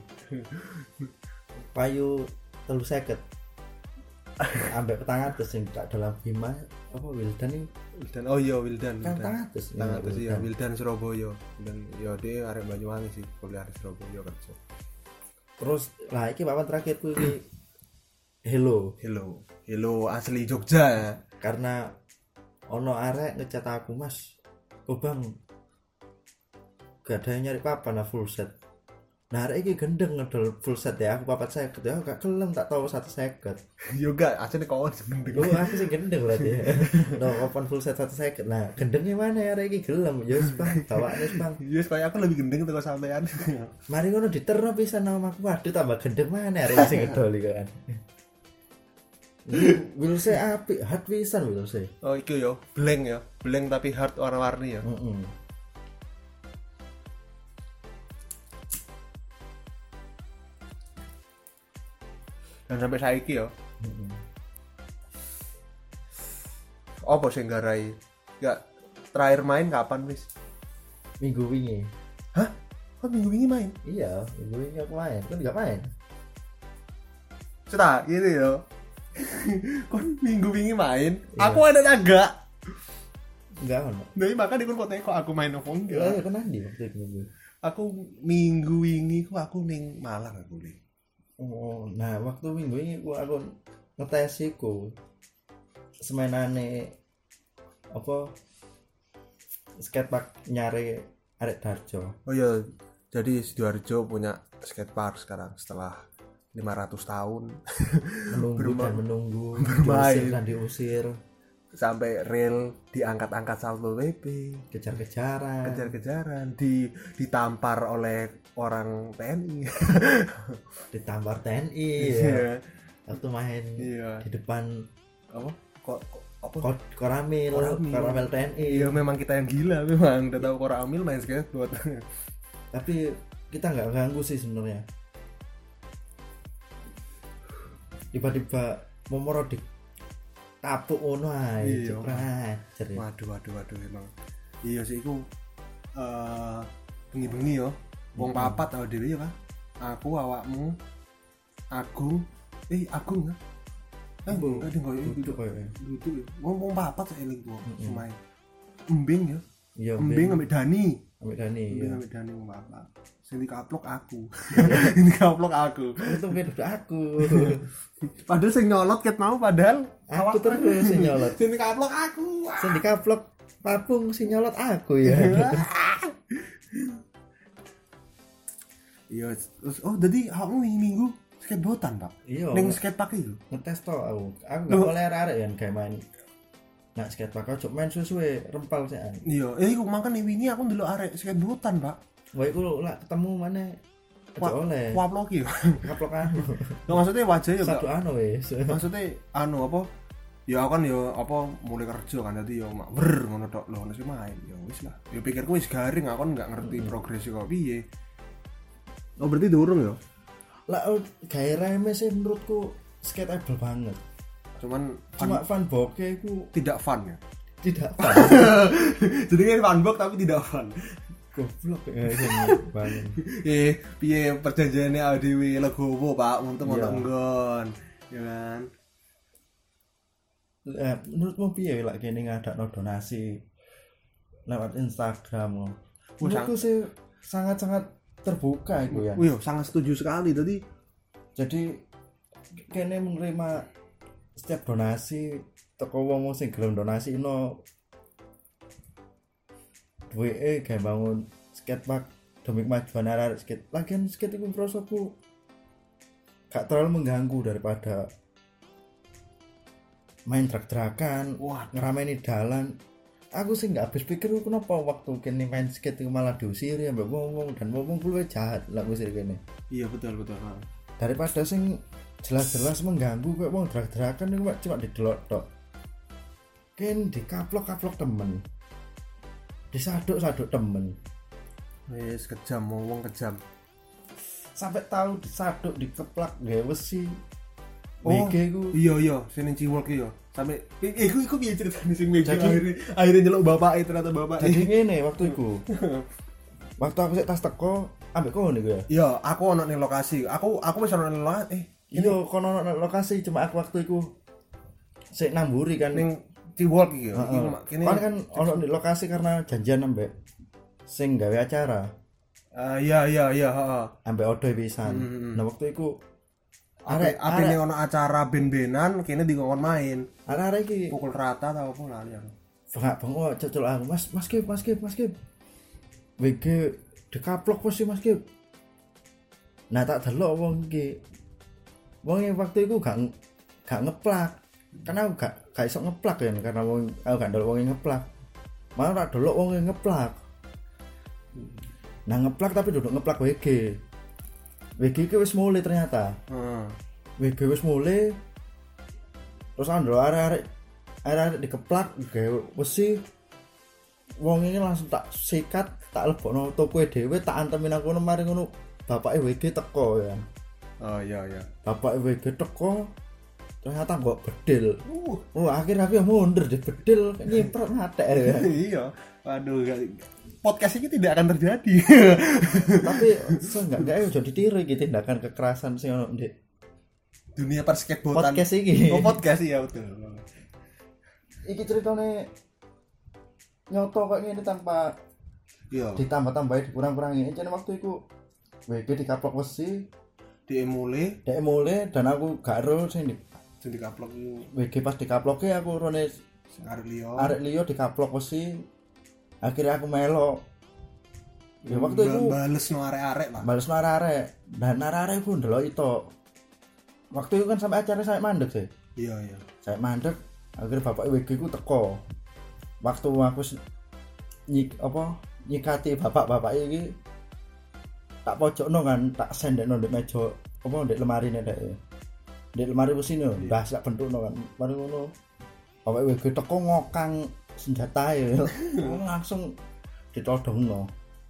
Payu 350. Ambek petang atus sing tak dalam Bima apa Wildan nih? Wildan. Oh iya Wildan. Kan petang atus ya Wildan Surabaya. Dan ya dia arek Banyuwangi sih, kuliah di Surabaya kerja. Terus lah iki papan terakhirku iki Hello. Hello asli Jogja ya. Karena ono arek ngecat aku, Mas. Oh Bang, gak ada yang nyari papan lah full set. Nah arek iki gendeng ngedol full set ya, aku papat seket ya, gak kelem tak tahu 150. Yo gak asli kok gendeng. Oh aku sih gendeng berarti ya. No papan full set 150. Nah gendengnya mana ya arek iki gelem. Yes Bang, bawaane Bang. Yes kayak aku lebih gendeng teko sampean. Mari ngono diterno pisan nama aku. Waduh tambah gendeng mana arek sing ngedol iki kan. Will say apik, hard pisan will say. Oh iku yo, blank tapi hard warna-warni ya. Dan sampai saiki yo. Apa sing garai? Gak terakhir main kapan wis? Minggu wingi. Hah? Kok minggu wingi main? Iya, minggu wingi aku main. Kan enggak main. Cetak gitu yo. Kon minggu wingi main, iya. aku ada naga. Enggak ono. Nah, makanya kon fotonya kok aku main opo enggak. Iya, kan nanti waktu itu minggu. Aku minggu wingi aku ning Malang aku li. Oh, nah waktu minggu ini aku ngetes iku semenane apa skatepark nyari arek Darjo. Oh iya, jadi Sidoarjo punya skatepark sekarang setelah 500 tahun menunggu bermain dan diusir sampai rel diangkat-angkat Salto PP, kejar-kejaran, ditampar oleh orang TNI. ditampar TNI ya. Waktu main di depan apa Koramil TNI. Iya memang kita yang gila, memang udah tahu Koramil main skateboard. Tapi kita nggak ganggu sih sebenarnya. Tiba-tiba Momorodik tapuk ono ae cepret. Waduh emang. Iya sih iku bengi-bengi yo. Wong papat tau dhewe ya kan. Aku, awakmu, Agung ya. Enggak ding koyo duduk ya. Wong papat saya eling tuh semain. Embing ya. Iya, Embing ambek Dani. Iya. Ambek Dani wong papat. Sing dikaplok aku. Dikaplok aku. Itu beda aku. Padahal sing nyolot ket mau padahal Aku terus sing nyolot. Sing dikaplok aku. Sing dikaplok papung sing nyolot aku ya. Iya, terus jadi kamu minggu skateboardan, Pak? Iya. Ning skatepark itu. Ngetes to aku. Aku enggak boleh arek ya kayak main. Nah, skatepark cok main suwe rempal sih. Iya, iku makane wingi aku ndelok arek skateboardan, Pak. Wah, iku lak ketemu mana oleh. Waplok iki. Kaplok anu. Nah, maksudnya wajah ya satu anu wis. Maksudnya anu apa? Ya aku kan ya apa mulai kerja kan dadi ya mak ber ngono tok lho wis main. Ya wis lah. Ya pikirku wis garing, aku kan enggak ngerti progres kok piye. Oh berarti durung ya? Lah gairah sih menurutku skateable banget. Cuma fun boke iku tidak fun ya. Tidak fun. Jadi kan fun box tapi tidak fun. Goblok banget. Piye perjanjiannya ADW legowo Pak untung ono nggon. Ya kan. Menurutmu piye lek kene ngadakno donasi lewat Instagram? Menurutku sih sangat-sangat terbuka itu ya. Iya, sangat setuju sekali tadi. Jadi kene menerima setiap donasi teko wong sing gelem donasi no duwe kayak bangun skatepark demi kemajuan arek skate. Lagian skate iku prosoku gak terlalu mengganggu daripada main truk-trukan, ngerameni dalan. Aku sih nggak habis pikir kenapa waktu kene main skate malah diusir ya mbak wong dan wong luwih jahat lah ngusir kene. Iya betul. Daripada sing jelas-jelas mengganggu kayak wong drag-dragan itu cuma didelok tok. Ken dikaplok-kaplok temen. Disaduk-saduk temen. Wis kejam wong kejam. Sampai tahu disaduk dikeplak gawe wesi. Oh iya sini ciwok iya sampai iku piye ceritane sing meja akhirnya nyeluk bapake ternyata bapake jadi ngene waktu iku waktu aku sik tas teko ambek kono niku ya iya aku ono ning lokasi aku wis ono ning lokasi iya kono ono lokasi cuma aku waktu iku sik namburi kan ning ciwok iki kene kan ono ning lokasi karena janjian ambek sing gawe acara Iya, heeh. Sampai odoy pisan. Nah waktu iku Apene ono acara ben-benan kene dikon main. arek iki Pukul rata tau apa lali aku. bengok cocol aku. Mas Kip. WG dikaplok pos Mas Kip. Nah tak delok wong iki. Wong yang waktu itu gak ngeplak. Karena aku gak iso ngeplak ya karena wong aku gak ndelok wong yang ngeplak. Malah tak delok wong yang ngeplak. Nah ngeplak tapi duduk ngeplak WG. WG iki wis mulai ternyata. WG wis mulai. Terus andro arek dikeplak gawe wesi. Wong ini langsung tak sikat, tak lebokno tokoe dhewe, tak antemin aku mari ngono. Bapake WG teko ya. Oh iya. Bapake WG teko. Ternyata kok bedil. Akhirnya aku mundur deh bedil nyiprat ngatek ya. Iya. Waduh, podcast ini tidak akan terjadi. Tapi seenggaknya udah ditiru iki tindakan kekerasan sing ono ndek dunia persketbotan. podcast iki. Oh, podcast ya betul. Iki ceritane nyoto kok ngene tanpa ditambah-tambahi dikurang-kurangi. Jane waktu iku WG dikaplok wesi, dek mulai dan aku gak ero sing dikaplok WG pas dikaploke aku rone arek liya dikaplok wesi. Akhirnya aku melo. Ya waktu itu bales no arek-arek lah. Bales no arek-arek. Dan arek-arek ku ndelok itu. Waktu itu kan sampai acara saya mandek sih. Iya. Saya mandek, akhirnya bapak WG ku teko. Waktu aku nyikati bapak-bapak iki tak pojokno kan, tak sendekno ndek meja apa ndek lemari nek. Ndek lemari wis ini ndah sak bentukno kan. Mari ngono. Bapak WG teko ngokang senjatae langsung ditodongno.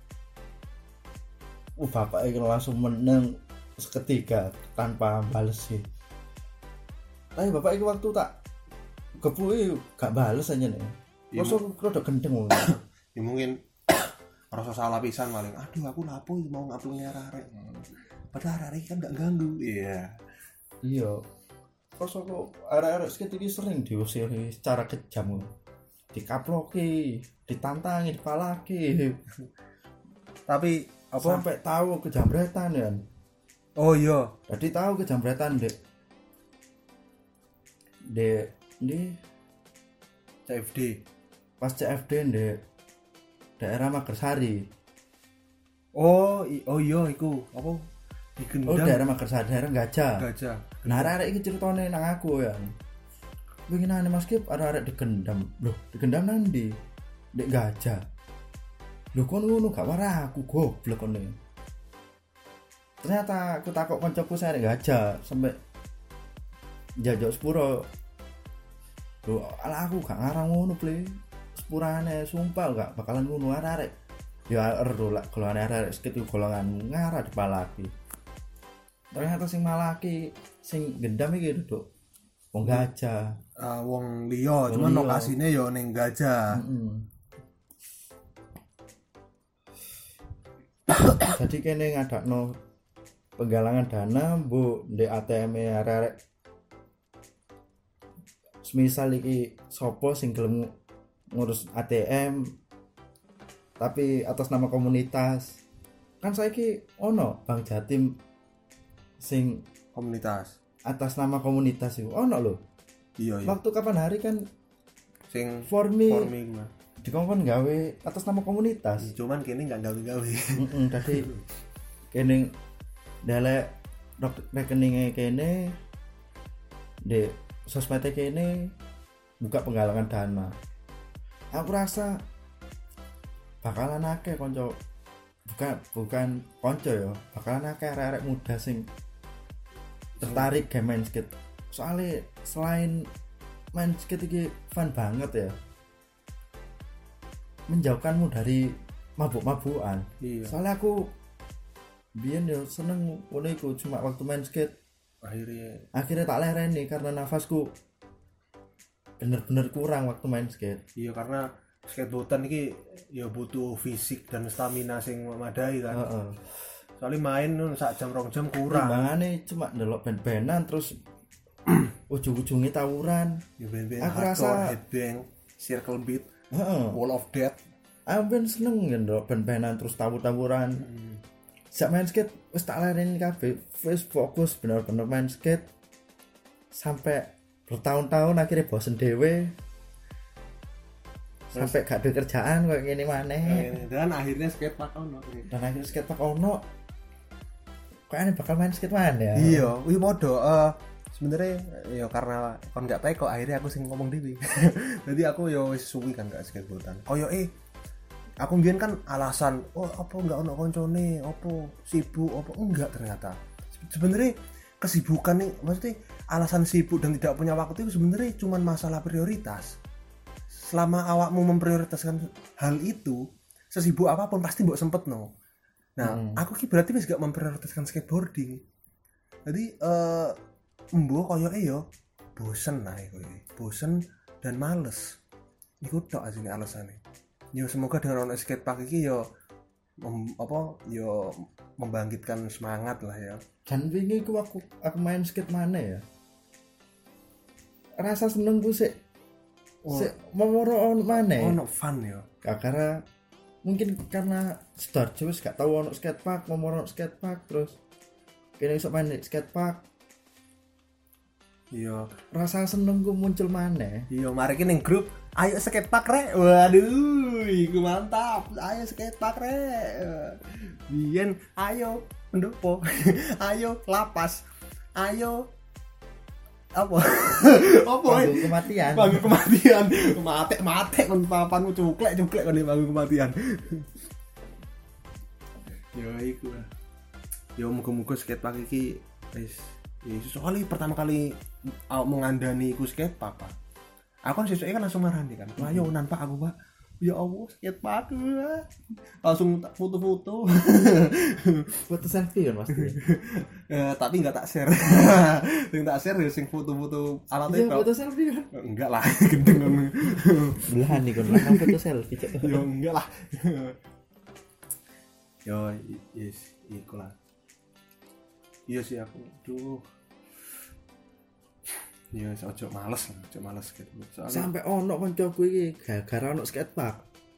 Bapak iki langsung meneng seketika tanpa bales sih. Tapi bapak iki waktu tak gepuki gak bales aja nih. Mosok rodok gendeng wong. Ya mungkin rasa salah pisan paling. Aduh aku lapo mau ngaplungi arek-arek. Padahal arek kan gak ganggu. Iya. Terus aku arek-arek sket iki sering diusiri secara kejam. Dikaploki, ditantangi, dipalaki. Tapi apa sampai tahu kejambretan ya. Oh iya, jadi tahu kejambretan di CFD. Pas CFD di daerah Magersari. Oh iya iku apa? Oh daerah Magersari, daerah Gajah. Nah arek iki ceritane nang aku ya. Winginane Mas Kip arek digendam. Loh, digendam nang ndi? Ndek Gajah. Loh kon ngono gak warah aku goblok kon. Ternyata aku takok kancaku saya ndek Gajah sampai jajak sepuro. Loh, ala aku gak ngarang ngono, Ple. Sepurane sumpah gak bakalan ngono arek. Ya ero lak golongan arek sekitu golongan ngarah dipalaki. Ternyata sing malaki sing gendam iki duduk wong Gajah. Wong liya, cuman lokasine ya ning Gajah. Jadi kene ngadakno penggalangan dana mbok ndek ATM-e arek-arek. Semisal iki sapa sing gelem ngurus ATM tapi atas nama komunitas. Kan saiki ono Bank Jatim sing komunitas. Atas nama komunitas iku ono lho. Iya. Waktu kapan hari kan sing formi mah dikongkon gawe atas nama komunitas. Cuman kene enggak gawe-gawe. Dadi kene delek rekeninge kene de sosmed kene buka penggalangan dana. Aku rasa bakalan akeh konco bukan konco ya, bakalan akeh arek-arek muda sing tertarik game main skate. Soalnya selain main skate iki fun banget ya, menjauhkanmu dari mabuk-mabukan. Iya. Soalnya aku biyen yo seneng ngono iku cuma waktu main skate. Akhirnya tak lereni karena nafasku bener-bener kurang waktu main skate. Iya, karena skateboardan iki ya butuh fisik dan stamina sing memadai kan. Soalnya main sak jam 2 jam kurang. Timbangane cuma ndelok band-bandan terus ujung-ujungnya tawuran. Ya band-band aku rasa headbang, circle beat, wall of death. Aku ben seneng ndelok band-bandan terus tawur-tawuran. sak main skate wis tak lereni kabeh, wis fokus bener-bener main skate sampai bertahun-tahun akhirnya bosen dhewe. Sampai gak ada kerjaan kayak gini maneh. Dan akhirnya skatepark ono. Dan akhirnya skatepark ono. Kayaknya bakal main skate mana ya? Iya, wih podo. Sebenarnya ya karena kon gak teko akhirnya aku sing ngomong dhewe. Jadi aku yo wis suwi kan gak skateboardan. Koyo aku mbiyen kan alasan, oh apa enggak ono koncone, apa sibuk, apa enggak ternyata. Sebenarnya kesibukan nih, maksudnya alasan sibuk dan tidak punya waktu itu sebenarnya cuma masalah prioritas. Selama awakmu memprioritaskan hal itu, sesibuk apapun pasti mbok sempetno. Nah, aku ki berarti wis gak memprioritaskan skateboarding. Jadi mbok koyoke yo bosen ae koyo. Bosen dan males. Iku tok asline alasane. Yo semoga dengan ono skatepark iki yo membangkitkan semangat lah ya. Dan wingi ku aku main skate mana ya? Rasa senengku sik memoro on mana? Ono fun ya. Karena mungkin karena Sidoarjo wis gak tau ono skatepark, memoro skatepark terus kene iso main skatepark. Iya, rasa senengku muncul mana? Iya, mari ki ning grup, ayo skatepark rek. Waduh, iku mantap. Ayo skatepark rek. Biyen ayo pendopo. Ayo lapas. Ayo apa Bangku kematian mati kon papanmu cuklek kon di bangku kematian. Yo iku yo muga-muga skatepark iki wis soalnya pertama kali mengandani iku skatepark Pak. Aku kan sesuai kan langsung marani kan ayo nampak aku Pak, ya Allah skatepark langsung foto-foto foto selfie kan pasti. Tapi enggak tak share. Sing tak share ya sing foto-foto alatnya. Iya, foto selfie kan. Enggak lah, gendeng kan. Belahan nih kan lah foto selfie. Yo enggak lah. Yo yes, iku lah. Iya sih aku. Duh. Ya ojo males gitu. Soalnya sampai ono kancaku iki gara-gara ono skatepark.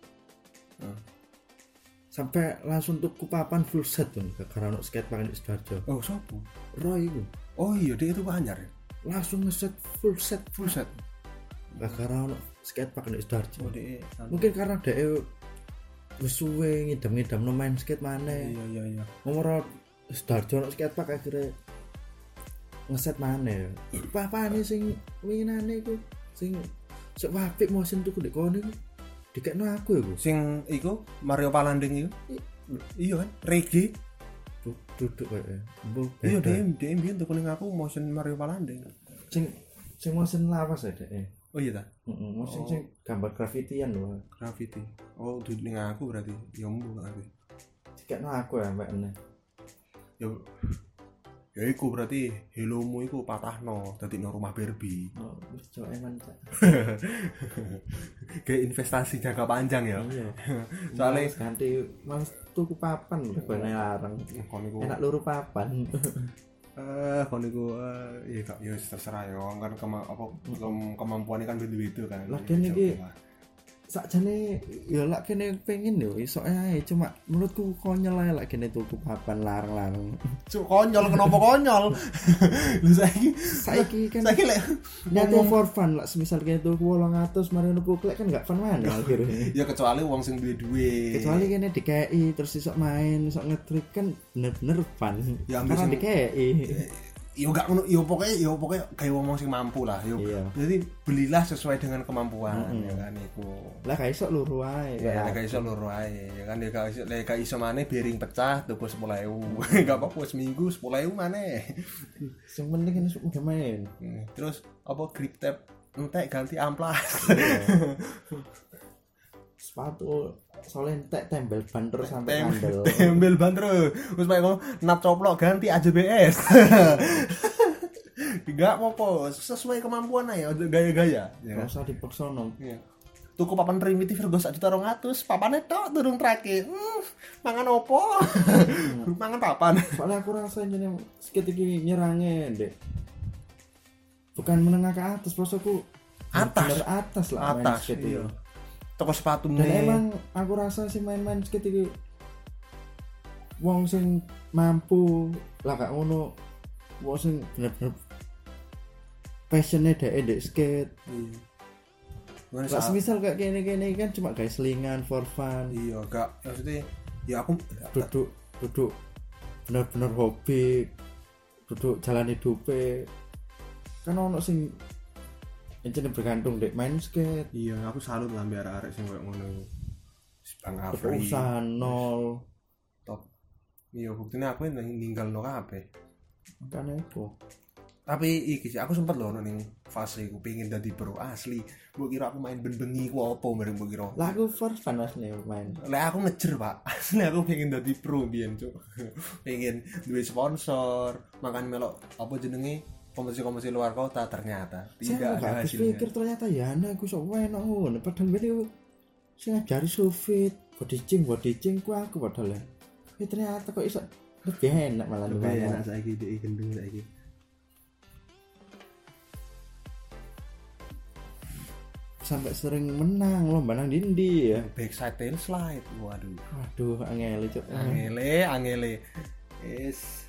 Sampai langsung tuku papan full set tuh gara-gara ono skatepark di Sidoarjo. Oh, sopo? Roy itu. Oh iya, dia itu Anyar ya. Langsung ngeset full set. Gara-gara ono skatepark di Sidoarjo. Oh, dia. Mungkin karena dia wis suwe ngidam-ngidam main skate maneh. Iya. Nomor Sidoarjo ono skatepark akhirnya ngeset mana apa-apane sing winginane iku sing sok apik motion tuku ndek kono iku dikekno aku iku sing iku Mario Palanding iku iya kan reggae duduk kayak iya dia mbiyen tuku ning aku motion Mario Palanding sing motion lawas ya dek oh iya ta motion sing gambar grafitian lho graffiti oh duduk ning aku berarti ya mbu aku dikekno aku ya mbak ene ya iku berarti helomu iku patahno dadi no rumah Barbie. Oh, wis cok eman cak. Kayak investasi jangka panjang ya. Iya. Soalnya ganti mas tuku papan lho ben larang. Enak luru papan. Kon iku ya terserah ya kan kemampuane kan beda-beda kan. Lagian iki sakjane ya lak kene pengen yo iso ae cuma menurutku konyol ae lak kene tuku papan larang-larang. Cuk konyol kenapa konyol? Lho saiki kan saiki lek ngomong for fun lak semisal kene tuku 800 mari nuku klek kan gak fun mana akhirnya. Ya kecuali wong sing duwe. Kecuali kene dikei terus iso main, iso nge-trip kan bener-bener fun. Ya karena dikei. Yo gak ngono yo pokoknya kayak ngomong sing mampu lah yo. Iya. Jadi belilah sesuai dengan kemampuan ya kan iku. Lah gak iso luru ae. Ya gak iso luru ae ya kan gak iso maneh bearing pecah tuku 10.000. Gak apa-apa seminggu 10.000 maneh. Sing penting kan udah main. Terus apa grip tape entek ganti amplas. Sepatu soalnya entek tembel ban terus sampai kandel. Tembel ban terus. Wis mek ngono nat coplok ganti AJBS. Enggak apa-apa, sesuai kemampuan aja, gaya-gaya. Enggak usah dipaksono. Iya. Tuku papan primitif rego 1.200, papane tok durung trake. Mangan opo? Mangan papan. Soalnya aku rasa jeneng skate iki nyerange, Dek. Bukan menengah ke atas, prosoku atas lah main skate iya. Toko sepatu dan emang aku rasa sih main-main skate iki wong sing mampu lah gak ngono wong sing bener-bener passionnya ndek skate. Gimana Lah semisal kayak gini kan cuma guys selingan for fun. Iya, gak maksudnya ya aku Duduk bener-bener hobi, duduk jalan hidupnya kan ono sing encene bergantung dek main skate. iya, aku salut lah biar arek sing koyo ngono. Bang Afri Usaha nol top. Iya, buktinya aku ninggal no kabeh. makanya itu. Tapi iki sih aku sempet loh ning fase aku pengen dadi pro asli. Mbok kira aku main ben-bengi ku opo bareng mbok kira. Lah aku for fun asli main. Lah aku ngejer, Pak. Asli aku pengen dadi pro biyen, Cuk. Pengen duwe sponsor, makan melok apa jenenge kompetisi-kompetisi luar kota ternyata tidak ada Aku hasilnya. pikir ternyata ya ana aku sok enak ngono padahal beli sing ngajari sufit, body ching ku aku padahal. Ternyata kok iso lebih enak malah Lebih enak saiki dhek gendeng saiki. Sampai sering menang lomba nang dindi ya. Backside tail slide. Waduh. Waduh, angel cuk. Angele. Yes.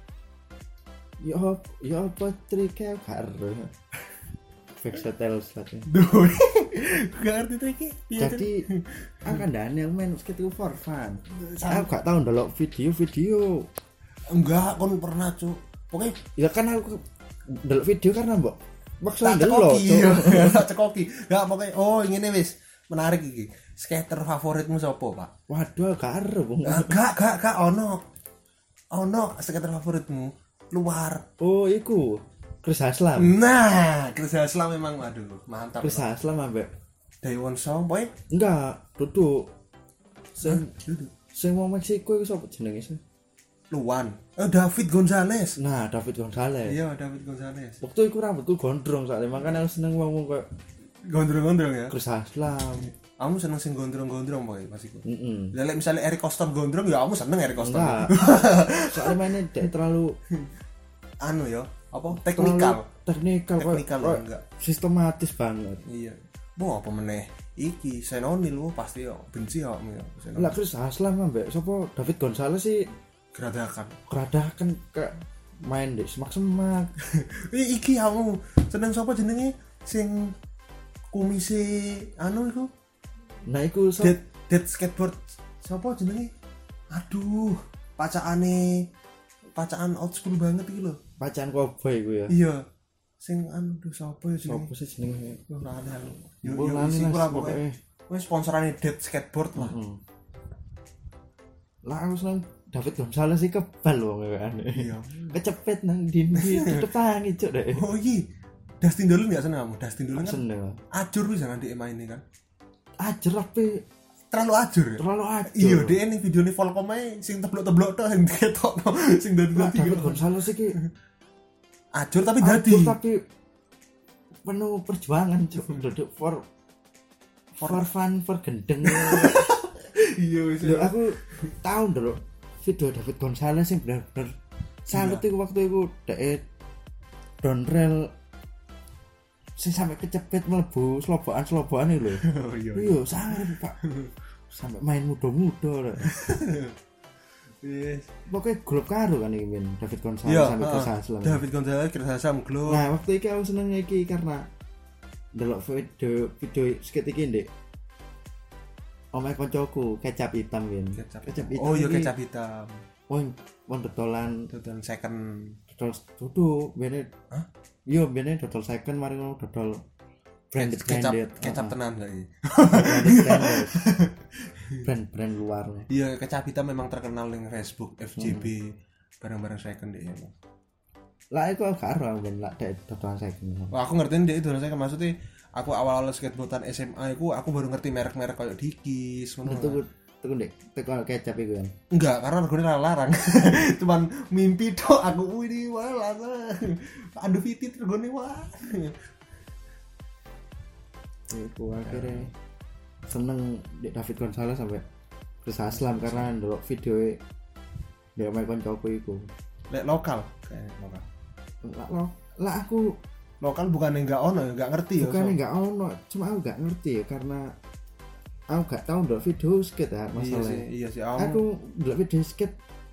Ya apa triknya karo. Backsetel slide. Duh. Gak ngerti tuh iki. Jadi akan Daniel main skate itu for fun. Aku gak tahu ndelok video. Enggak, kon pernah, Cuk. Pokoknya Ya kan aku ndelok video karena mbok maksa tak ndelok. cekoki. Tak cekoki. Enggak pokoknya ngene wis. Menarik iki. Skater favoritmu sapa, Pak? Waduh, karo Bung. Gak ono skater favoritmu luar. Oh, iku Chris Haslam. Nah, Chris Haslam memang aduh, mantap. Chris Haslam ambek Daewon Song boy. enggak, duduk. Duduk. Sing wong Meksiko iku sapa jenenge sih? Luan. David Gonzalez. Nah, David Gonzalez. Iya, David Gonzalez. Waktu iku rambutku gondrong soalnya makanya aku seneng wong koyo Gondrong-gondrong ya. Chris Haslam. Kamu seneng sing gondrong-gondrong boy pas iku. Heeh. Lah misalnya Eric Coston gondrong ya kamu seneng Eric Coston. Enggak. Soalnya mainnya dia terlalu Anu ya, apa? Teknikal kok enggak. sistematis banget. Iya. Mau apa meneh? Iki Senonil lu pasti yo benci yo ya. Lah Chris Haslam ambek sapa David Gonzalez sih Geradakan. keradakan kayak main di semak-semak. Iki kamu seneng sapa jenenge sing kumise anu iku? Nah iku Dead skateboard sapa jenenge? Aduh, pacaan old school banget iki lho. Pacaan cowboy iku ya. Iya. Sing aduh sapa ya jenenge? Sopo sih jenenge? Ora ada. Yo Bulan isi ini kurang pokoke. pokoke. Wis sponsorane Dead Skateboard lah. Lah aku seneng David Gonzalez sih kebal wong kan. Iya. Kecepet nang dindi depan cuk deh. Oh iya. Dustin Dolan enggak seneng kamu? Dustin Dolan kan Seneng. ajur wis jangan dia main kan. Ajar tapi Terlalu ajur ya? terlalu ajar. Iya, dia ning videone Volcom ae sing teblok-teblok tok sing ketokno sing dadi-dadi. David Gonzalez iki Ajur tapi dadi. aduh, tapi penuh perjuangan cuk duduk for fun for gendeng. Iya wis. Lho aku tahu dulu video David Gonzalez yang benar-benar salut iku waktu iku dek downrail sing sampai kecepet mlebu slobokan iki lho. Oh iya. Iya, sangat Pak. Sampai main muda-muda lho. Yes. Pokoknya grup karo kan iki men David Gonzalez Iya, sampai Chris Haslam. David Gonzalez Chris Haslam glow. Nah, waktu iki aku seneng iki karena delok video skate iki ndek omahe koncoku kecap hitam kan. Kecap hitam. Oh iya iki, kecap hitam. wong dodolan Dodol second. dodol duduk bene. Hah? Iya, bene dodol second mari ngono dodol branded. Kecap tenan kali. Brand luar. Iya, kecap hitam memang terkenal ning Facebook FJB barang-barang second deh. Lah iku karo ben lak dek dodolan second. Wah, aku ngertiin dia itu saya maksudnya aku awal-awal skateboardan SMA aku baru ngerti merek-merek kayak Dickies ngono. Tuku ndek teko kecap iku kan. Enggak, karena regane larang. Cuman mimpi tok aku ini wah larang. Aduh fitit regane wah. Iku akhirnya seneng Dek David Gonzalez sampai Chris Haslam karena ndelok video dia main koncoku iku. Lek lokal kayak lokal. Lah aku Lokal bukan enggak ono, enggak ngerti ya. bukannya nggak ono, cuma aku nggak ngerti ya karena aku nggak tahu ndelok video skate ya masalah. Iya sih. Aku ndelok video skate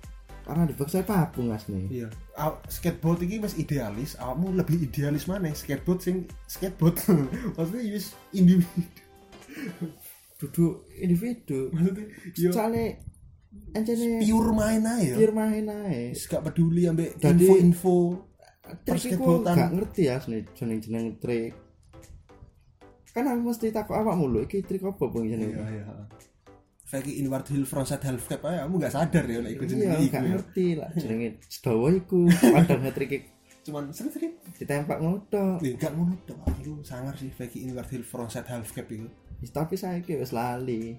karena di backside papung asli. Iya. Skateboard iki wis idealis, awakmu lebih idealis maneh skateboard sing skateboard. Maksudnya wis individu. Duduk individu. Maksudnya yo Soale encene pure main ae. pure main ae. Wis gak peduli ambek Dadi- info-info Trik iku persketboardan. gak ngerti asli jeneng trik. Kan aku mesti takut awakmu lho iki trik apa bang jenenge? Iya. Fake inward heel frontside half cap aja kamu gak sadar ya lek iku jenenge Iya, iku. gak Ya. ngerti lah jenenge sedawa iku. Padahal nge-trik Cuman sering-sering ditembak ngono. gak ngono tok. Iku sangar sih fake inward heel frontside half cap iku. Tapi saiki wis lali.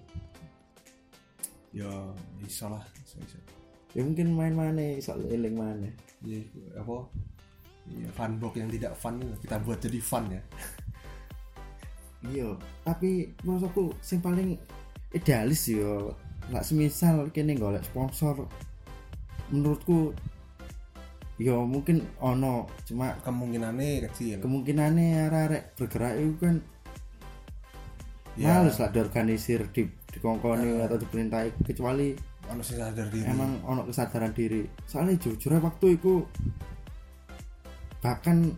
Ya iso lah, iso. Ya mungkin main maneh iso eling maneh. Ya iku apa? Ya funbox yang tidak fun kita buat jadi fun ya. Iya, tapi menurutku sing paling idealis yo lak semisal kene golek sponsor menurutku yo mungkin ono cuma Kemungkinannya kecil. kemungkinannya arek bergerak itu kan Ya. males lah diorganisir dikongkoni atau diperintahi kecuali Ono sing sadar diri. emang ono kesadaran diri soalnya jujur waktu itu bahkan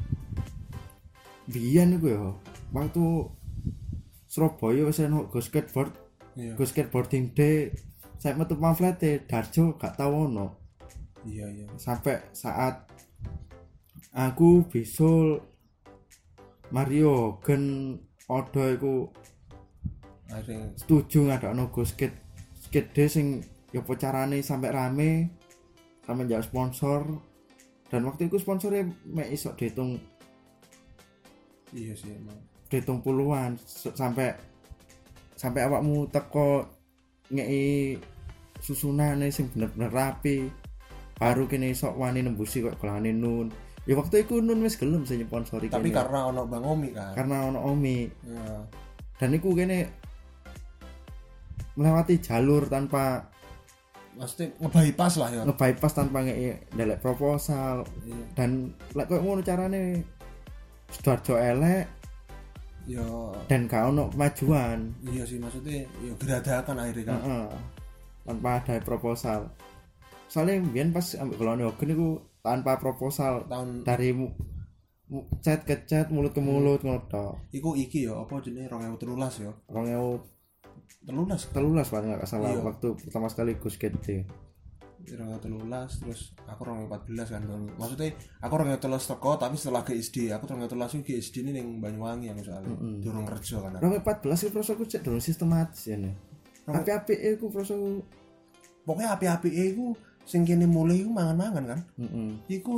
biyen iku ya waktu Surabaya wis ono go skateboard Iya. go skateboarding day saya metu pamflete Darjo gak tau ono Iya. sampai saat aku bisul Mario Gen Odo iku Akhirnya setuju ngadakno go skate day sing ya apa carane sampai rame sampai njak sponsor dan waktu itu sponsornya mek iso dihitung iya sih emang. dihitung puluhan sampai awakmu teko ngei susunane sing bener-bener rapi baru kene iso wani nembusi kok kelane Nun ya waktu itu Nun wis gelem sing nyponsori Tapi kene karena ono Bang Omi kan. karena ono Omi Ya. dan iku kene melewati jalur tanpa Maksudnya ngebypass lah ya. nge-bypass tanpa ngei ndelek proposal Iya. dan lek koyo ngono carane Sidoarjo elek Ya dan gak ono kemajuan iya sih maksudnya ya geradakan akhirnya kan. Heeh. Tanpa ada proposal soalnya biyen pas ambek Golone Hogen iku tanpa proposal Tahun dari chat ke chat mulut ke mulut ngono tok iku iki ya apa jenenge 2013 ya. 2013 13 paling gak salah Iya. waktu pertama sekali go skate 2013 terus aku 2014 kan. Maksudnya aku 2013 teko tapi setelah GSD, aku 2013 itu GSD ini ning Banyuwangi aku soalnya. Durung kerja kan. 2014 iku prosoku cek durung sistematis ya nih api-api iku prosoku Pokoknya api-api iku sing kene mulai iku mangan-mangan kan. heeh Iku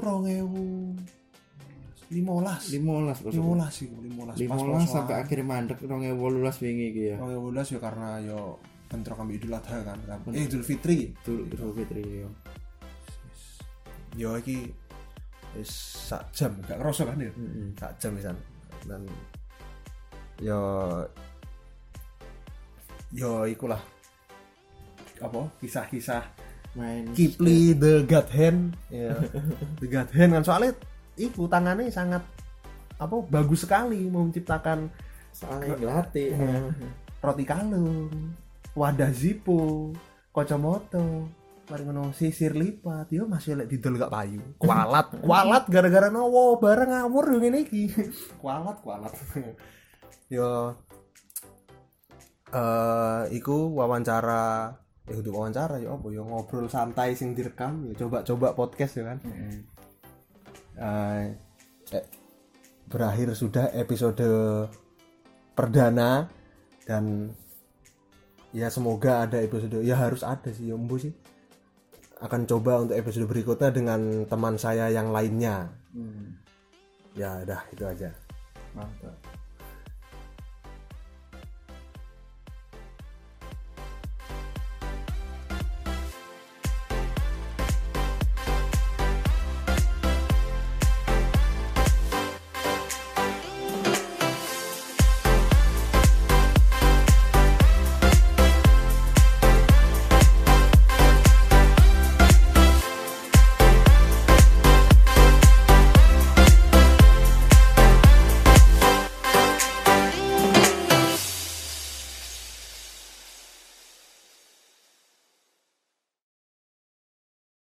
2015 15 prosoku 15 iku 15 15 sampai akhir mandek 2018 wingi iki ya 2015 ya karena yo bentrok ambil Idul Adha kan. Idul Fitri. Idul Fitri ya Yo iki wis sak jam gak kerasa kan ya. heeh Sak jam pisan. Dan yo ikulah apa kisah-kisah main Kipli the God Hand ya. The God Hand kan soalnya iku tangannya sangat apa bagus sekali mau menciptakan soalnya ngelatih roti kalung, wadah Zippo, kacamata, mari ngono sisir lipat, yo masih lek didol gak payu. Kualat gara-gara nowo bareng ngawur yo ngene iki. Kualat. Yo iku wawancara untuk wawancara ya apa ya ngobrol santai sing direkam ya coba podcast ya kan. Berakhir sudah episode perdana dan ya semoga ada episode ya harus ada sih ya Mbu sih akan coba untuk episode berikutnya dengan teman saya yang lainnya. Ya udah itu aja. mantap